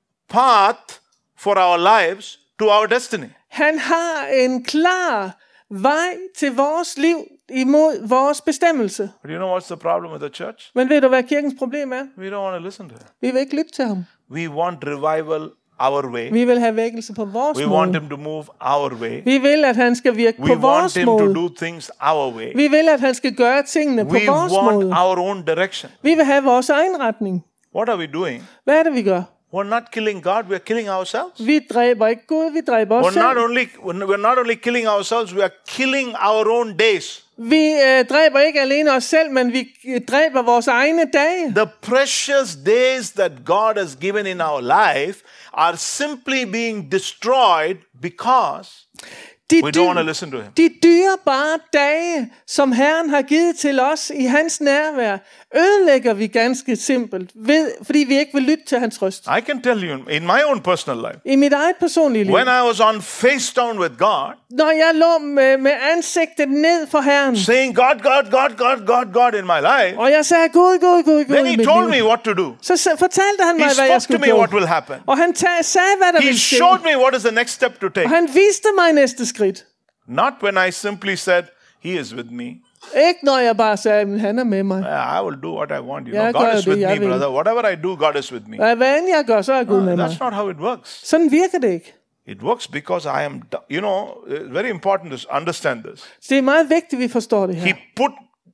path for our lives to our destiny. Han har en klar vej til vores liv imod vores bestemmelse. But you know what's the problem with the church? Men ved du, hvad kirkens problem er? We don't want to listen to him. Vi vil ikke lytte til ham. We want revival our way. Vi vil have vækkelse på vores We want måde. him to move our way. Vi vil, at han skal virke We på want vores him to måde. do things our way. Vi vil, at han skal gøre tingene på We vores want måde. our own direction. Vi vil have vores egen retning. What are we doing? Hvad er det, vi gør? We're not killing God, we're killing ourselves. Vi dræber ikke Gud, vi dræber os We're not selv. only we're not only killing ourselves, we are killing our own days. Vi øh, dræber ikke alene os selv, men vi øh, dræber vores egne dage. The precious days that God has given in our life are simply being destroyed because De, we don't want to listen to him. de dyrebare dage, som Herren har givet til os i hans nærvær, ødelægger vi ganske simpelt, ved, fordi vi ikke vil lytte til hans røst. I can tell you in my own personal life, I mit eget personlige liv, when I was on face down with God, når jeg lå med, med ansigtet ned for Herren, saying God, God, God, God, God, God in my life, og jeg sagde, Gud, Gud, Gud, Gud then i he mit told liv, me what to do. så sa- fortalte han He mig, hvad jeg spoke to skulle me what gøre. will happen. Og han ta- sagde, hvad der He ville ske. showed me what is the next step to take. Og han viste mig næste skridt. Not when I simply said, he is with me. Ikke når jeg bare sagde, men han er med mig. I will do what I want. You Jeg know, gør God is det, with jeg me, vil. brother. Whatever I do, God is with me. Og hvad end jeg gør, så er Gud med mig. That's not how it works. Sådan virker det ikke. It works because I am, you know, it's very important to understand this. Så det er meget vigtigt, at vi forstår det He her. put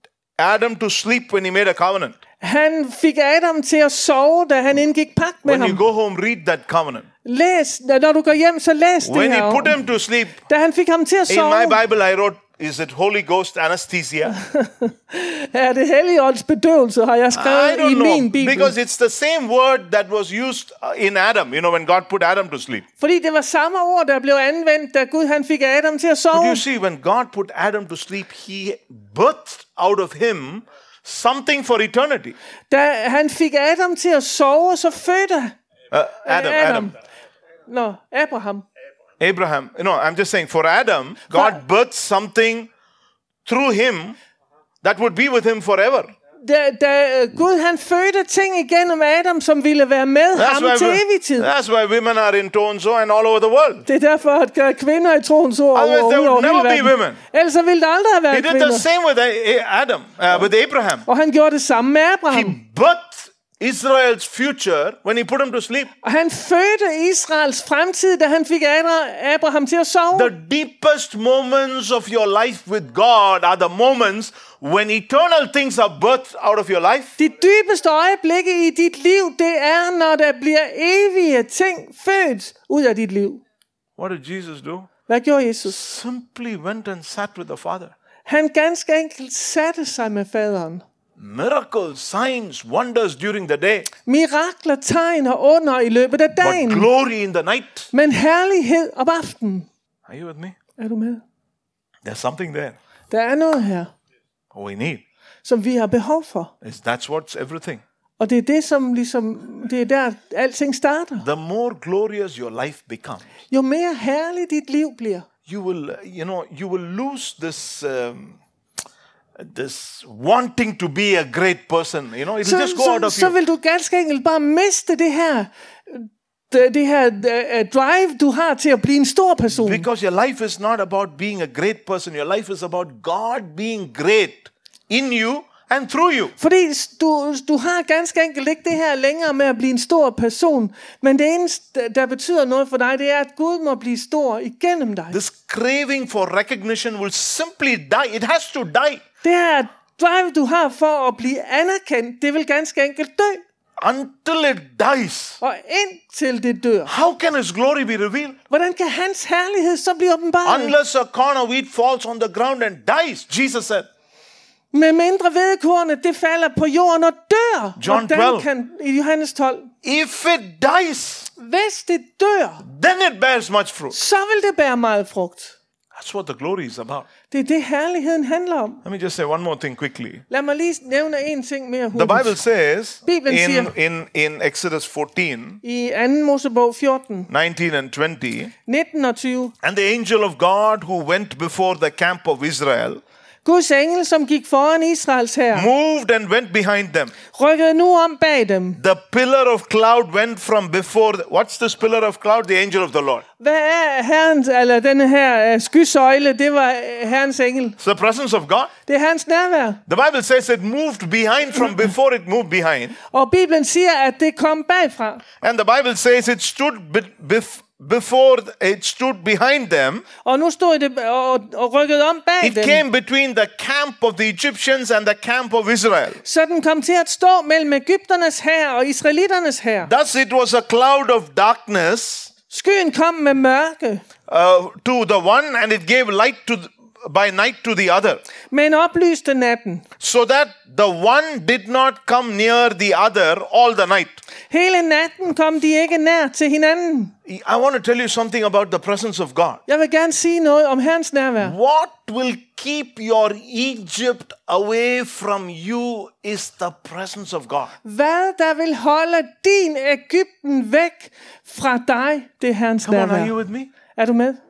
Adam to sleep when he made a covenant. Han fik Adam til at sove, da han indgik pagt med When you ham. go home, read that covenant. Læs, når du går hjem, så læs det When he her. put him to sleep, Da han fik ham til at in sove, my Bible I wrote, is it Holy Ghost anesthesia? er det Helligånds bedøvelse, har jeg I skrevet i don't min know. bibel. Because it's the same word that was used uh, in Adam, you know, when God put Adam to sleep. Fordi det var samme ord, der blev anvendt, da Gud han fik Adam til at But sove. you see, when God put Adam to sleep, he birthed out of him something for eternity. Da han fik Adam til at sove, så fødte Uh, Adam, Adam. Nå, Abraham. Abraham. No, I'm just saying, for Adam, God birthed something through him that would be with him forever. Da, da øh, Gud han fødte ting igennem Adam, som ville være med That's ham why, til we- evig tid. that's why women are in Tonso and all over the world. Det er derfor, at der er kvinder i troens ord Otherwise, over, there over would hele never be verden. women. Ellers så ville der aldrig have He været did the kvinder. same with A- Adam, uh, with Abraham. Og han gjorde det samme med He Abraham. birthed Israel's future when he put him to sleep. Og han fødte Israels fremtid, da han fik Adra- Abraham til at sove. The deepest moments of your life with God are the moments when eternal things are birthed out of your life. De dybeste øjeblikke i dit liv, det er, når der bliver evige ting født ud af dit liv. What did Jesus do? Hvad gjorde Jesus? Simply went and sat with the Father. Han ganske enkelt satte sig med faderen. Miracles, signs, wonders during the day, Mirakler, tegn og under i løbet af but dagen. glory in the night. Men herlighed om aftenen. Are you with me? Er du med? There's something there. Der er noget her, We need. som vi har behov for. That's what's everything. Og det er det, som ligesom, det er der, alting starter. The more glorious your life becomes, Jo mere herligt dit liv bliver, you will, you know, you will lose this, um, this wanting to be a great person. You know, it will så, just go out of så, så you. vil du ganske enkelt bare miste det her, det, det her uh, drive, du har til at blive en stor person. Because your life is not about being a great person. Your life is about God being great in you and through you. Fordi du, du har ganske enkelt ikke det her længere med at blive en stor person, men det eneste, der betyder noget for dig, det er, at Gud må blive stor igennem dig. This craving for recognition will simply die. It has to die. Det her drive, du har for at blive anerkendt, det vil ganske enkelt dø. Until it dies. Og indtil det dør. How can His glory be revealed? Hvordan kan hans herlighed så blive åbenbaret? Unless a corn of wheat falls on the ground and dies, Jesus said. Med mindre hvedekornet, det falder på jorden og dør. John Hvordan twelve. kan, i Johannes tolv. If it dies, Hvis det dør, then it bears much fruit. så vil det bære meget frugt. That's what the glory is about. Det er det, herligheden handler om. Let me just say one more thing quickly. Lad mig lige nævne en ting mere The hurtigt. Bible says Bibelen in, siger- in, in Exodus fourteen, I anden Mosebog fjorten, nineteen and twenty, nitten og tyve. and the angel of God who went before the camp of Israel Guds engel, som gik foran Israels hær, moved and went behind them. rykkede nu om bag dem. The pillar of cloud went from before. The, what's this pillar of cloud? The angel of the Lord. Hvad er herrens, eller denne her uh, skysøjle? Det var uh, herrens engel. It's the presence of God. Det er hans nærvær. The Bible says it moved behind from before it moved behind. Og Bibelen siger, at det kom bagfra. And the Bible says it stood be- bef- before it stood behind them. Og nu stod det og, og rykkede om bag It dem. came between the camp of the Egyptians and the camp of Israel. Så den kom til at stå mellem Egypternes hær og israelitternes hær. Thus it was a cloud of darkness Skyen kom med mørke, uh, to the one, and it gave light to th- by night to the other, men oplyste natten. so that the one did not come near the other all the night. Hele natten kom de ikke nær til hinanden. I want to tell you something about the presence of God. Jeg vil gerne sige noget om Herrens nærvær. What will keep your Egypt away from you is the presence of God. Hvad der vil holde din Egypten væk fra dig, det er Herrens Come on, are you nærvær. with me? Er du med?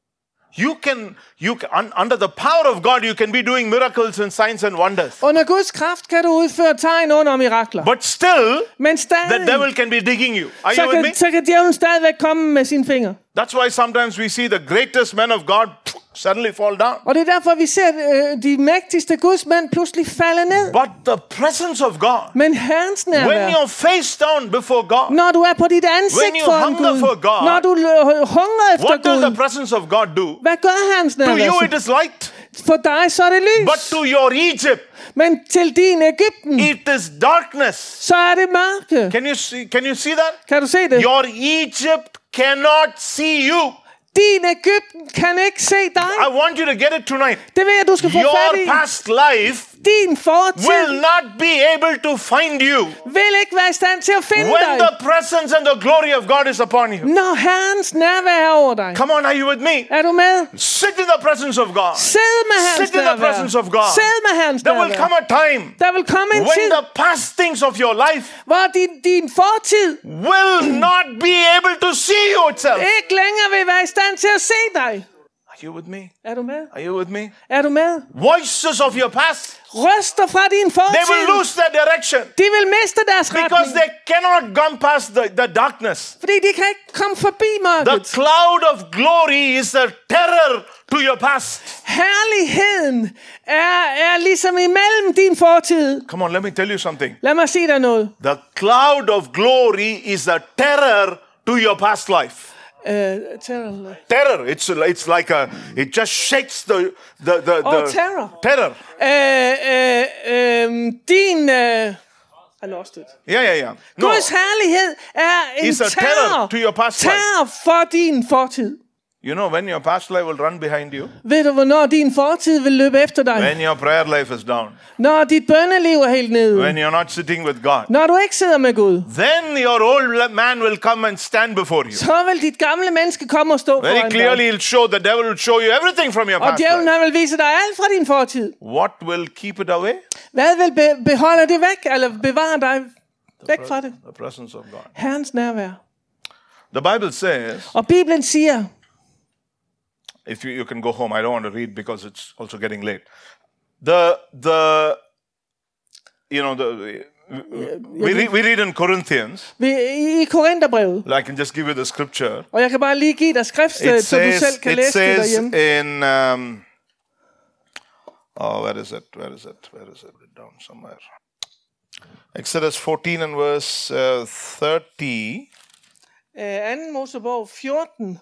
You can, you can, un, under the power of God, you can be doing miracles and signs and wonders. Under Guds kraft kan du udføre tegn under mirakler. But still, Men the stadig, devil can be digging you. Are så you with me? kan, så kan djævlen stadigvæk komme med sine fingre. That's why sometimes we see the greatest men of God suddenly fall down. Og det er derfor, vi ser øh, de mægtigste gudsmænd pludselig falde ned. But the presence of God, Men Herrens when nærvær, you're face down before God, når du er på dit ansigt When you foran hunger Gud, for God, når du øh, hungrer efter what does the Gud, presence of God do? hvad gør Herrens To nærvær you så? it is light, For dig så er det lys. but to your Egypt Men til din Egypten, it is darkness. så er det mørke. Can you see, can you see that? Kan du se det? Your Egypt cannot see you. Din Egypten kan ikke se dig. I want you to get it tonight. Det vil jeg, du skal få fat Your i. past life Din fortid will not be able to find you vil ikke være i stand til at finde when dig, the presence and the glory of God is upon you. når Herrens nærvær er over dig. Come on, are you with me? Er du med? Sit in the presence of God. Sid med Herrens Sit in the nærvær. presence of God. Sid med Herrens There will come nærvær. a time Der vil komme en when tid, the past things of your life hvor din, din fortid will not be able to see you itself. ikke længere vil være i stand til at se dig. Are you with me? Er du med? Are you with me? Er du med? Voices of your past, Røster fra din they will fortid, lose their direction de vil miste deres because retning, they cannot come past the, the darkness. fordi de kan ikke komme forbi The mørket. cloud of glory is a terror to your past. Herligheden er, er ligesom imellem din fortid. Come on, let me tell you something. Lad mig sige dig noget. The cloud of glory is a terror to your past life. Uh, terror. Terror. It's it's like a. It just shakes the the the. the Oh, terror. Terror. Uh, uh, um, din... Uh, I lost it. Yeah, yeah, yeah. No, Guds herlighed er en It's a terror terror, to your past life. terror for din fortid. You know when your past life will run behind you? Ved du, hvornår din fortid vil løbe efter dig? When your prayer life is down. Når dit bønneliv er helt nede. When you're not sitting with God. Når du ikke sidder med Gud. Then your old man will come and stand before you. Så vil dit gamle menneske komme og stå foran Very dig. clearly he'll show, the devil will show you everything from your Og past djævlen life. han vil vise dig alt fra din fortid. What will keep it away? Hvad vil be- beholde det væk, eller bevare dig væk fra det? The presence of God. Herrens nærvær. The Bible says, Og Bibelen siger, if you, you can go home, I don't want to read because it's also getting late. The, the, you know, the, we, read, we read in Corinthians, vi, i Korintherbrevet, I can just give you the scripture. og jeg kan bare lige give dig skriftsted, It så du says, selv kan it læse det says derhjemme. in, um, oh, where is it? Where is it? Where is it? Down somewhere. Exodus fourteen and verse uh, thirty. Uh, anden Mosebog fjorten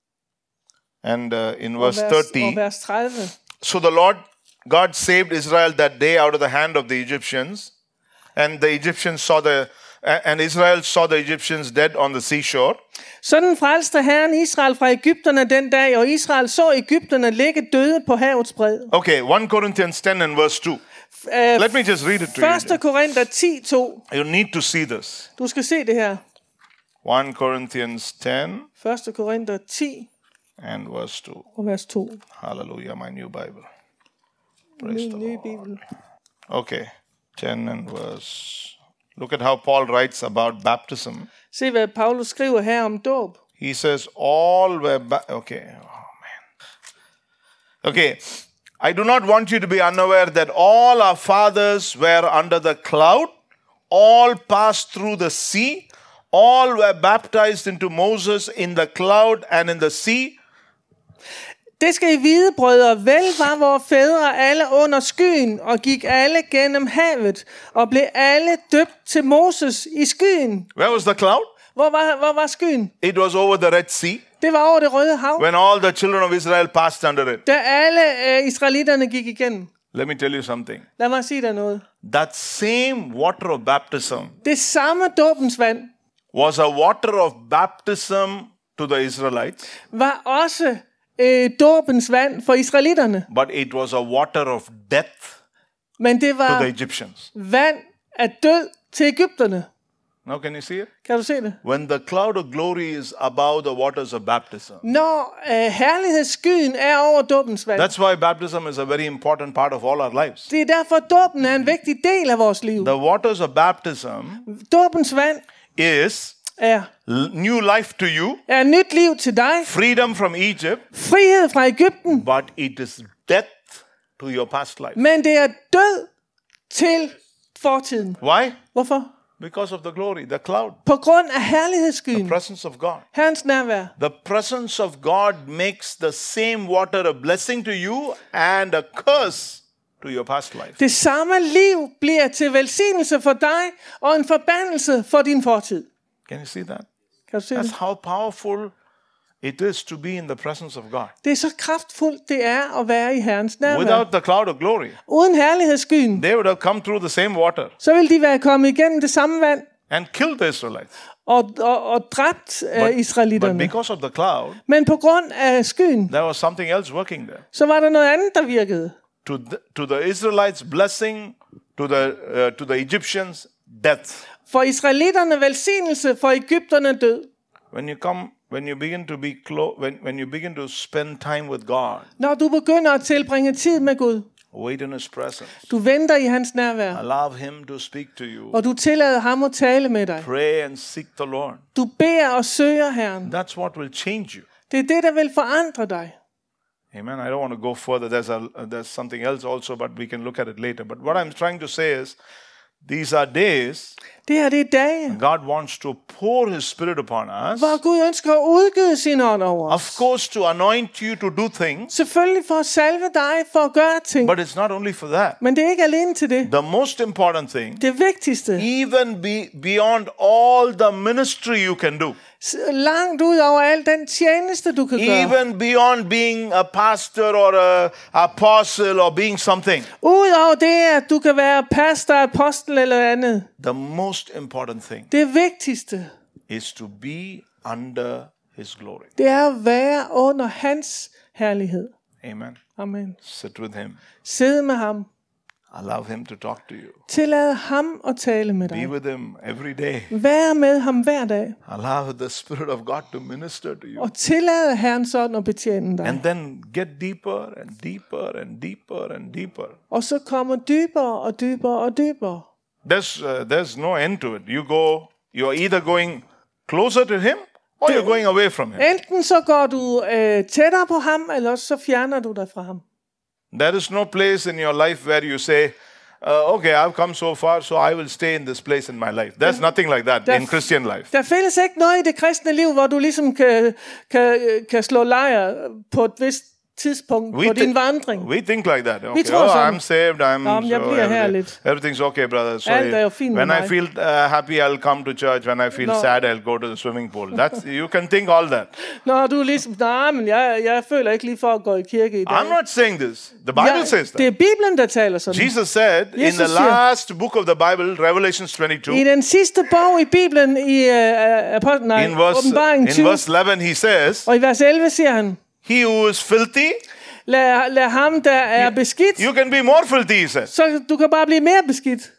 And uh, in og verse vers, thirty. og vers tredive. So the Lord God saved Israel that day out of the hand of the Egyptians. And the Egyptians saw the, and Israel saw the Egyptians dead on the seashore. Sådan frelste Herren Israel fra Egypterne den dag, og Israel så Egypterne ligge døde på havets bred. Okay, First Corinthians ten and verse two. Uh, Let me just read it to første you. Korinther ti to. You need to see this. Du skal se det her. First Corinthians ten første Korinther ti and verse two. og vers to. Hallelujah, my new Bible. Praise Ny, the ny Lord. Bibel. Okay, ten and verse. Look at how Paul writes about baptism. Se hvad Paulus skriver her om dåb. He says, all were, ba- okay, oh man. Okay, I do not want you to be unaware that all our fathers were under the cloud, all passed through the sea, all were baptized into Moses in the cloud and in the sea. Det skal I vide, brødre, vel var vores fædre alle under skyen, og gik alle gennem havet, og blev alle døbt til Moses i skyen. Where was the cloud? Hvor var, hvor var skyen? It was over the Red Sea, Det var over det Røde Hav, when all the children of Israel passed under it. da alle øh, israelitterne gik igennem. Let me tell you something. Lad mig sige dig noget. That same water of baptism Det samme dåbens vand was a water of baptism to the Israelites, var også øh, dåbens vand for israelitterne. but it was a water of death Men det to the var Egyptians. vand af død til Egypterne. Now can you see it? Kan du se det? When the cloud of glory is above the waters of baptism. Når øh, herlighedsskyen er over dåbens vand. That's why baptism is a very important part of all our lives. Det er derfor, dåben er en vigtig del af vores liv. The waters of baptism Dåbens vand is er, l- new life to you, er nyt liv til dig. freedom from Egypt, Frihed fra Egypten. but it is death to your past life. Men det er død til fortiden. Why? Hvorfor? Because of the glory, the cloud, På grund af herlighedsskyen. presence of God. Herrens nærvær. The presence of God makes the same water a blessing to you and a curse to your past life. Det samme liv bliver til velsignelse for dig og en forbandelse for din fortid. Can you see that? Kan du se det? That's how powerful it is to be in the presence of God. Det er så kraftfuldt, det er at være i Herrens nærvær. Without the cloud of glory, Uden herlighedsskyen, they would have come through the same water så vil de være kommet igennem det samme vand and killed the Israelites. og, og, og dræbt uh, But israelitterne. because of the cloud, Men på grund af skyen, there was something else working there. så var der noget andet, der virkede. To the, to the Israelites, blessing, to the, uh, to the Egyptians, death. For israelitterne velsignelse, for egypterne død. When you come, when you begin to be close, when, when you begin to spend time with God, Når du begynder at tilbringe tid med Gud, wait in His presence, du venter i hans nærvær, allow Him to speak to you, og du tillader ham at tale med dig. pray and seek the Lord. Du beder og søger Herren. That's what will change you. Det er det, der vil forandre dig. Amen. I don't want to go further. There's a there's something else also, but we can look at it later. But what I'm trying to say is, these are days Det her, det er dage, God wants to pour His Spirit upon us. hvor Gud ønsker at udgyde sin ånd over Of os. course, to anoint you to do things, Selvfølgelig for at salve dig, for at gøre ting. but it's not only for that. Men det er ikke alene til det. The most important thing, Det vigtigste, even be beyond all the ministry you can do, s- langt ud over al den tjeneste, du kan gøre. even beyond being a pastor or a apostle or being something, Udover det, at du kan være pastor, apostel eller andet. the most important thing Det vigtigste, is to be under His glory. Det er at være under hans herlighed. Amen. Amen. Sit with Him. Sid med ham. Allow Him to talk to you. Tillad ham at tale med Be dig. with Him every day. Vær med ham hver dag. Allow the Spirit of God to minister to you. Og tillad Herrens ånd at betjene dig. And then get deeper and deeper and deeper and deeper. Og så kommer dybere og dybere og dybere. There's, uh, there's no end to it. You go, you're either going closer to Him or you're going away from Him. Enten så går du øh, tættere på ham, eller så fjerner du dig fra ham. There is no place in your life where you say, uh, okay, I've come so far, so I will stay in this place in my life. There's nothing like that in Christian life. Der findes ikke noget i det kristne liv, hvor du ligesom kan, kan, kan slå lejr på et vist tidspunkt We på din thi- vandring. We think like that. Okay, tror oh, sådan. I'm saved. I'm Nå, men jeg so bliver her everything- lidt. everything's okay, brother. So Alt er jo fint med when I mig. feel uh, happy, I'll come to church. When I feel Nå. sad, I'll go to the swimming pool. That's you can think all that. Når du er ligesom, nej, men jeg, jeg føler ikke lige for at gå i kirke i dag. I'm not saying this. The Bible Ja, says det that. er Bibelen, der taler sådan. Jesus said in Jesus the siger- last book of the Bible, Revelations twenty-two, I den sidste bog i Bibelen, i uh, apostel, nej, in verse åbenbaringen in tyve, verse eleven, he says, og i vers elleve siger han, "He who is filthy, lad, lad ham, der er beskidt, you can be more filthy." He says, så du kan bare blive mere beskidt.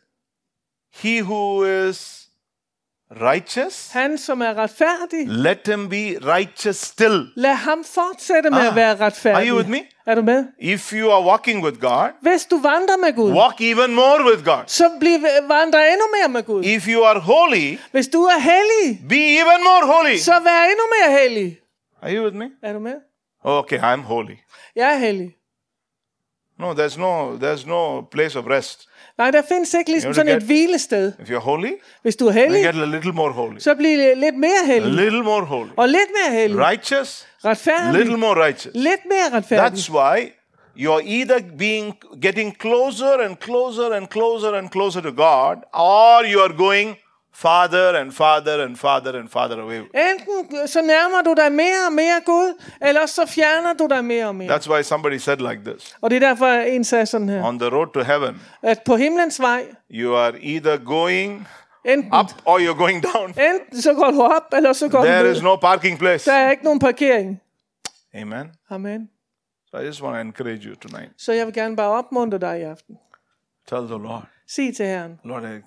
"He who is righteous, Han, som er retfærdig, let him be righteous still." lad ham fortsætte med Ah, at være are retfærdig. you with me? Er du med? If you are walking with God, Hvis du vandrer med Gud, walk even more with God. så bliv, vandre endnu mere med Gud. If you are holy, Hvis du er hellig, be even more holy. så vær endnu mere hellig. Are you with me? Er du med? Okay, I'm holy. Jeg er hellig. No, there's no there's no place of rest. Nej, der findes ikke ligesom You sådan get- et hvilested. If you're holy, Hvis du er then hellig, get a little more holy. så bliv lidt mere A hellig. little more holy. Og lidt mere hellig. Righteous, Retfærdig. little more righteous. Lidt mere retfærdig. That's why you're either being getting closer and closer and closer and closer to God, or you are going farther and farther and farther and farther away. Enten så nærmer du dig mere og mere Gud, eller så fjerner du dig mere og mere. That's why somebody said like this. Og det er derfor, en sagde sådan her, On the road to heaven, at på himlens vej, you are either going enten, up or you're going down. enten så går du op, eller så går du There ned. is no parking place. Der er ikke nogen parkering. Amen. Amen. So I just want to encourage you tonight. Så jeg vil gerne bare opmuntre dig i aften. Tell the Lord, Sig til Herren, Lord, I, uh,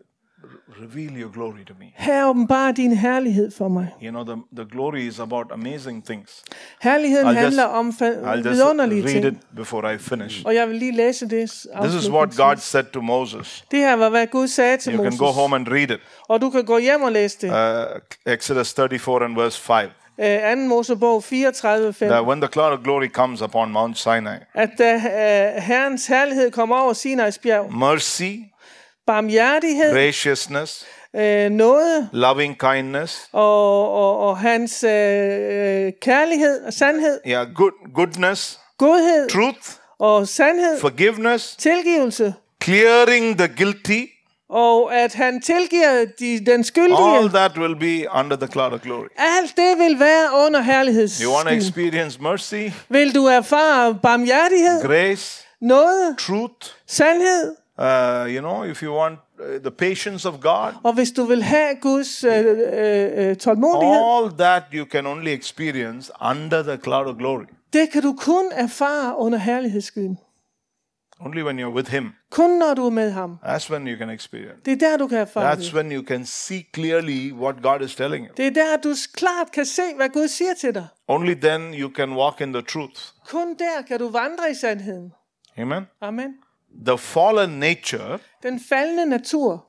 reveal your glory to me. her åbenbar din herlighed for mig. You know, the, the glory is about amazing things. Herligheden I'll just- handler om fa- I'll just vidunderlige read ting. it before I finish. Og jeg vil lige læse det This is what afslutningsvis. God said to Moses. Det her var, hvad Gud sagde til You can Moses. go home and read it. Og du kan gå hjem og læse det. Uh, Exodus thirty-four and verse five. Uh, anden Mosebog fireogtredive fem. That when the cloud of glory comes upon Mount Sinai, At da uh, Herrens herlighed kommer over Sinais bjerg, mercy, barmhjertighed, graciousness, uh, nåde loving kindness, og, og, og hans uh, kærlighed og sandhed, yeah, good, goodness, godhed truth, og sandhed, forgiveness, tilgivelse, clearing the guilty, og at han tilgiver de, den skyldige. all that will be under the cloud of glory. Alt det vil være under You want to herlighedsskyen. experience mercy, Vil du erfare barmhjertighed, grace, nåde, truth, sandhed, uh, you know, if you want uh, the patience of God, og hvis du vil have Guds øh, øh, øh, tålmodighed, all that you can only experience under the cloud of glory. det kan du kun erfare under herlighedsskyen. Only when you're with Him. Kun når du er med ham. That's when you can experience. Det er der, du kan erfare That's det. when you can see clearly what God is telling you. Det er der, du klart kan se, hvad Gud siger til dig. Only then you can walk in the truth. Kun der kan du vandre i sandheden. Amen. Amen. The fallen nature, Den faldende natur.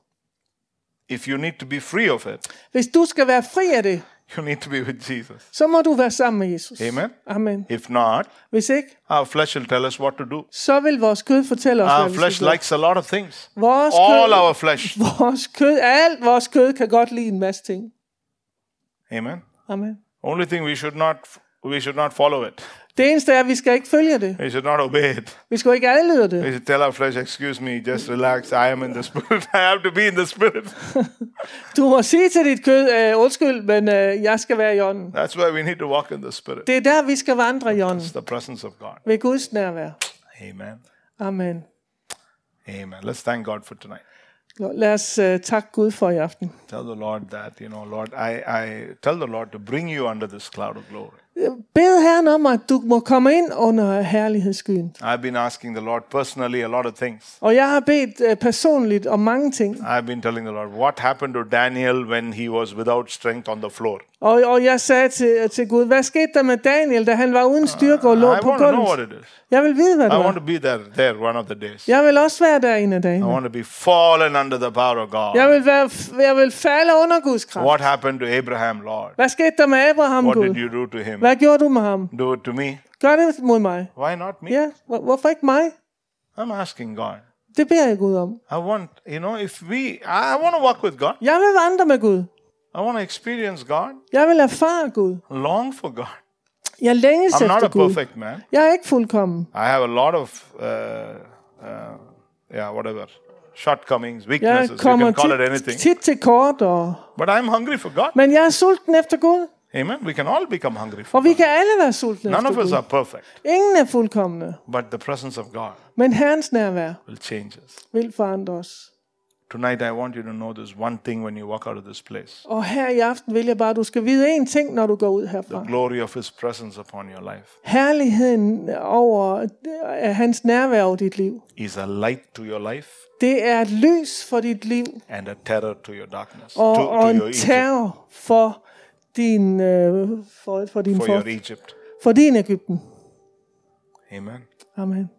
if you need to be free of it, Hvis du skal være fri af det, you need to be with Jesus. så må du være sammen med Jesus. Amen. Amen. If not, Hvis ikke, our flesh will tell us what to do. så vil vores kød fortælle os, Our hvad vi flesh skal gøre. likes a lot of things. Vores All kød, our flesh. vores kød, alt vores kød kan godt lide en masse ting. Amen. Amen. Only thing we should not we should not follow it. Det eneste er, at vi skal ikke følge det. We should not obey it. Vi skal ikke adlyde We det. should tell our flesh, excuse me, just relax. I am in the spirit. I have to be in the spirit. Du må sige til dit kød, øh, undskyld, men øh, jeg skal være i ånden. That's why we need to walk in the spirit. Det er der, vi skal vandre i ånden. It's the presence of God. Ved Guds nærvær. Amen. Amen. Amen. Let's thank God for tonight. Lad os uh, takke Gud for i aften. Tell the Lord that, you know, Lord, I, I tell the Lord to bring you under this cloud of glory. Bed Herren om, at du må komme ind under herlighedsskyen. I've been asking the Lord personally a lot of things. Og jeg har bedt uh, personligt om mange ting. I've been telling the Lord, what happened to Daniel when he was without strength on the floor? Og, og jeg sagde til, til Gud, hvad skete der med Daniel, da han var uden styrke og lå I på want to know gulvet? what it is. Jeg vil vide, hvad I det want var. to be there, there one of the days. Jeg vil også være der en af I dagene. want to be fallen under the power of God. Jeg vil, være, jeg vil falde under Guds kraft. What happened to Abraham, Lord? Hvad skete der med Abraham, What Gud? did you do to him? Hvad gjorde du med ham? Do it to me. Gør det mod mig. Why not me? Ja, hvor- hvorfor ikke mig? I'm asking God. Det beder jeg Gud om. I want, you know, if we, I want to walk with God. Jeg vil vandre med Gud. I want to experience God. Jeg vil erfare Gud. Long for God. Jeg længes I'm not efter a Gud. perfect man. Jeg er ikke fuldkommen. I have a lot of, uh, uh, yeah, whatever, shortcomings, Jeg weaknesses. You kommer can call it tit, anything. tit til kort, og... But I'm hungry for God. men jeg er sulten efter Gud. Amen. We can all become hungry for Og vi God. kan alle være sultne None efter of us are Gud. perfect, Ingen er fuldkommende. but the presence of God Men Herrens nærvær will change us. vil forandre os. Tonight, I want you to know this one thing when you walk out of this place. Og her i aften vil jeg bare, at du skal vide en ting, når du går ud herfra. The glory of His presence upon your life Herligheden over af hans nærvær over dit liv. is a light to your life Det er et lys for dit liv, and a terror to your darkness, og, to, og to en your Egypt, terror for din, øh, for, for din, for for, your Egypt. for din Egypten. Amen. Amen.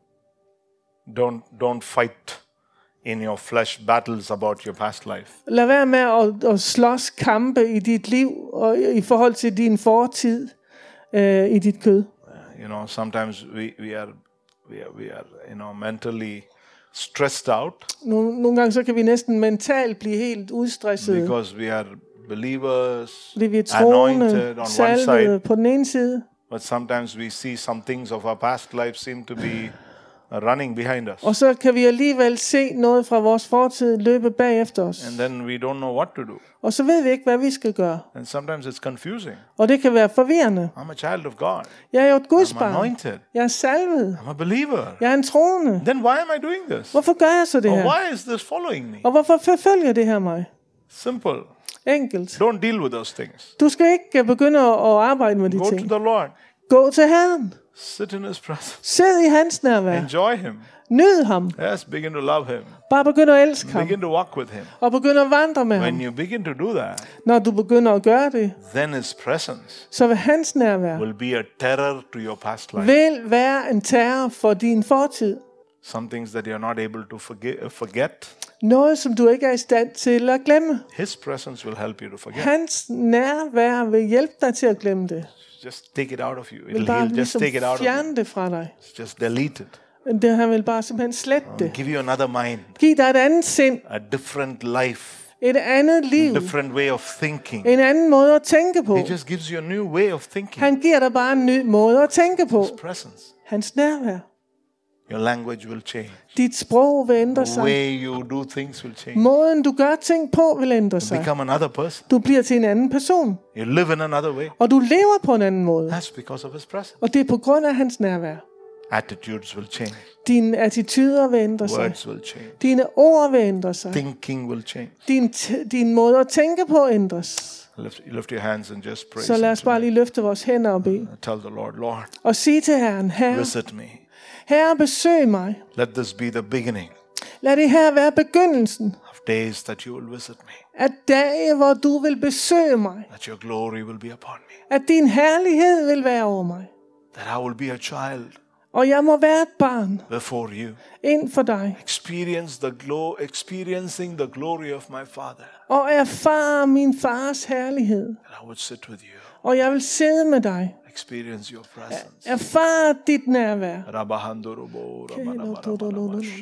Don't don't fight in your flesh battles about your past life. Lad være med at, at slås kampe i dit liv og i forhold til din fortid øh, i dit kød. You know, sometimes we, we are we are we are you know mentally stressed out Nogle, nogle gange så kan vi næsten mentalt blive helt udstressede, because we are believers, fordi vi er anointed troende, on one salvede side, på den ene side, but sometimes we see some things of our past life seem to be uh, running behind us, og så kan vi alligevel se noget fra vores fortid løbe bagefter os. and then we don't know what to do. Og så ved vi ikke, hvad vi skal gøre. And sometimes it's confusing. Og det kan være forvirrende. I'm a child of God. Jeg er jo et Guds I'm barn. anointed. Jeg er salvet. I'm a believer. Jeg er en troende. Then why am I doing this? Hvorfor gør jeg så det Or her? why is this following me? Og hvorfor forfølger det her mig? Simple. Enkelt. Don't deal with those things. Du skal ikke begynde at arbejde med de Go to ting. the Lord. Gå til Herren. Sit in His presence. Sid i hans nærvær. Enjoy Him. Nyd ham. Yes, begin to love Him. Bare begynd at elske ham. Begin to walk with Him. Og begynd at vandre med When ham. you begin to do that, Når du begynder at gøre det, then His presence så vil hans nærvær will be a terror to your past life. vil være en terror for din fortid. Some things that you're not able to forget, forget. Noget, som du ikke er i stand til at glemme. His presence will help you to forget. Hans nærvær vil hjælpe dig til at glemme det. Just take it out of you. Vil It'll, bare he'll just ligesom take it out of you. fjerne det fra dig. Just delete it. Det, han vil bare simpelthen slette det. Give you another mind, Giv dig et andet sind. a different life, Et andet liv. different way of thinking. En anden måde at tænke på. He just gives you a new way of thinking. Han giver dig bare en ny måde at tænke på. His presence. Hans nærvær. Your language will change. Dit sprog vil ændre The sig. way you do things will change. Måden du gør ting på vil ændre sig. Become another person. Du bliver til en anden person. You live in another way. Og du lever på en anden måde. That's because of His presence. Og det er på grund af hans nærvær. Attitudes will change. Dine attityder vil ændre sig. Words will change. Dine ord vil ændre sig. Thinking will change. Din, t- din måde at tænke på ændres. Lift, lift your hands and just praise Så lad Him os bare tonight. lige løfte vores hænder og bede. Tell the Lord, Lord, Og sige til Herren, Herre, visit me. Herre, besøg mig. Let this be the beginning Lad det her være begyndelsen of days that you will visit me. af dage, hvor du vil besøge mig. That your glory will be upon me. At din herlighed vil være over mig. That I will be a child Og jeg må være et barn before you. ind for dig. Experience the glow, experiencing the glory of my Father. Og erfare min fars herlighed. And I would sit with you. Og jeg vil sidde med dig. Experience your presence. Erfare dit nærvær. Rabahandorobo, rabarabarabarabasha.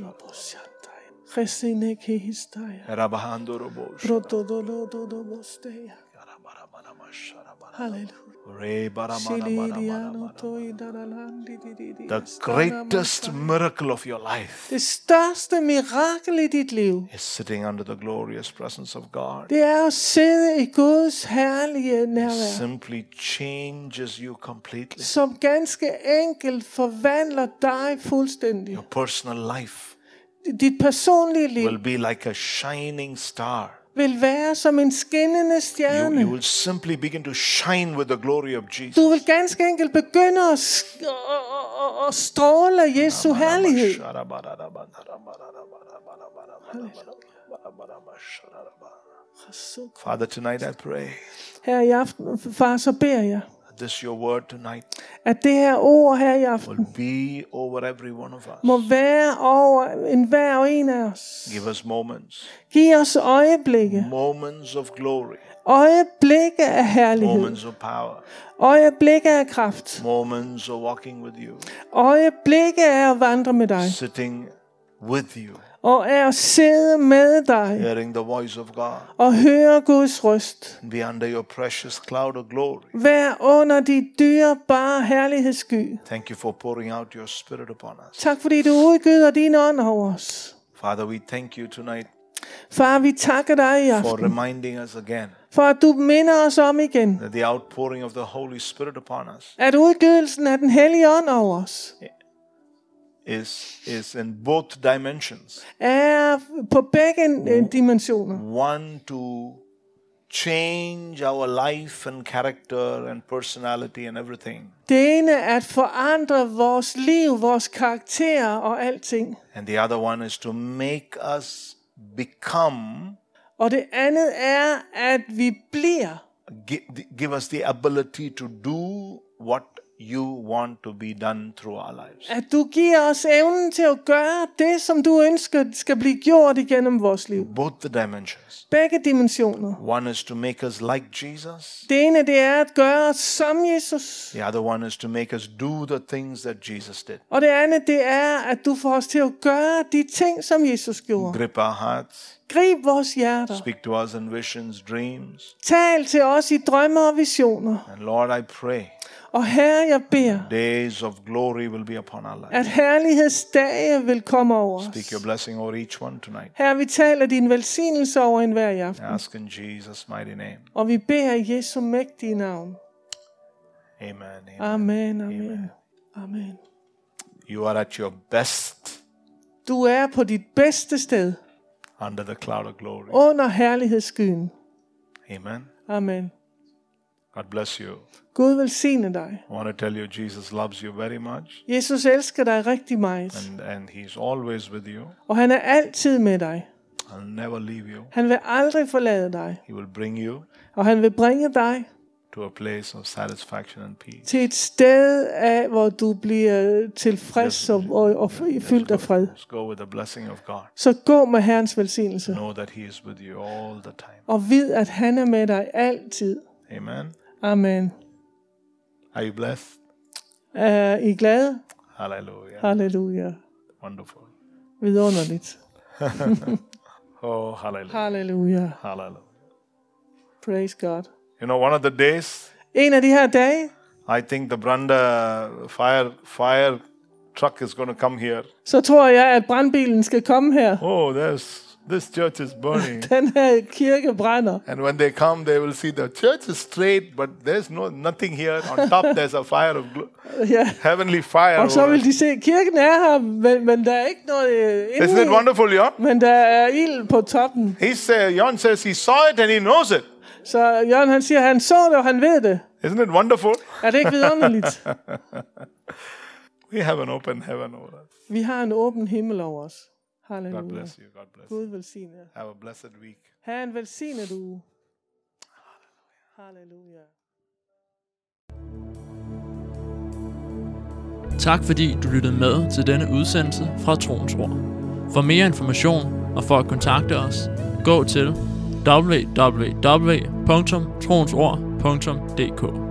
Rabahandorobo, Halleluja. rebaramanamanamanama. The greatest miracle of your life Det største mirakel i dit liv, is sitting under the glorious presence of God. det er at sidde i Guds herlige nærvær, Simply changes you completely. som ganske enkelt forvandler dig fuldstændig. Your personal life, dit personlige liv will be like a shining star. vil være som en skinnende You, stjerne. you will simply begin to shine with the glory of Jesus. Du vil ganske enkelt begynde at, sk- at, at, at stråle af Jesu herlighed. Father, tonight I pray Her i aften, far, så beder jeg, that this your word tonight at det her ord her i aften will be over every one of us. må være over enhver og en af os. Give us moments, Giv os øjeblikke. moments of glory, Øjeblikke af herlighed. moments of power, Øjeblikke af kraft. moments of walking with you, Øjeblikke af at vandre med dig. sitting with you, Og af at sidde med dig. hearing the voice of God, Og høre Guds røst. and be under your precious cloud of glory. Vær under de dyrebare herlighedssky. Thank you for pouring out your spirit upon us. Tak fordi du udgyder din ånd over os. Father, we thank you tonight Far, vi takker dig i for aften. reminding us again For at du minder os om igen. that the outpouring of the Holy Spirit upon us At udgydelsen af den hellige ånd over os is, is in both dimensions. er på begge øh, dimensioner. One, to change our life and character and personality and everything. Det ene er at forandre vores liv, vores karakter og alting. And the other one is to make us become, Og det andet er, at vi bliver. give, give us the ability to do what you want to be done through our lives. At du giver os evnen til at gøre det, som du ønsker skal blive gjort igennem vores liv. Both the dimensions. Begge dimensioner. One is to make us like Jesus. Det ene, det er at gøre os som Jesus. The other one is to make us do the things that Jesus did. Og det andet, det er, at du får os til at gøre de ting, som Jesus gjorde. Grip our hearts. Grib vores hjerter. Speak to us in visions, dreams. Tal til os i drømme og visioner. And Lord, I pray Og Herre, jeg beder, days of glory will be upon our lives. at herlighedsdage vil komme over Speak os. your blessing over each one tonight. Herre, vi taler din velsignelse over enhver i I aften. ask in Jesus' mighty name. Og vi beder i Jesu mægtige navn. Amen. Amen. Amen, amen, amen. You are at your best Du er på dit bedste sted, under the cloud of glory. under herlighedsskyen. Amen. Amen. God bless you. Gud velsigne dig. I want to tell you, Jesus loves you very much. Jesus elsker dig rigtig meget. And, and he's always with you. Og han er altid med dig. I'll never leave you. Han vil aldrig forlade dig. He will bring you Og han vil bringe dig to a place of satisfaction and peace. til et sted, af, hvor du bliver tilfreds og, og, og fyldt af fred. Just go with the blessing of God. Så gå med Herrens velsignelse. Know that he is with you all the time. Og vid, at han er med dig altid. Amen. Amen. Are you blessed? Er I glade? Hallelujah. Halleluja. Wonderful. Vidunderligt. Oh, hallelujah. Halleluja. Hallelujah. Praise God. You know, one of the days, En af de her dage, I think the Branda fire fire truck is going to come here. så tror jeg, at brandbilen skal komme her. Oh, there's this church is burning. Den her kirke brænder. And when they come, they will see the church is straight, but there's no nothing here. On top, there's a fire of glo- Ja. heavenly fire. Og så over vil it. de se, at kirken er her, men, men der er ikke noget øh, Isn't it inde i. wonderful, Jon? Men der er ild på toppen. He say, Jon says he saw it and he knows it. Så Jørgen han siger, at han så det, og han ved det. Isn't it wonderful? Er det ikke vidunderligt? We have an open heaven over us. Vi har en åben himmel over os. God Halleluja. bless you. God bless you. Gud velsigne jer. Have a blessed week. Ha' en velsignet uge. Halleluja. Tak fordi du lyttede med til denne udsendelse fra Troens Ord. For mere information og for at kontakte os, gå til w w w punktum troensord punktum d k.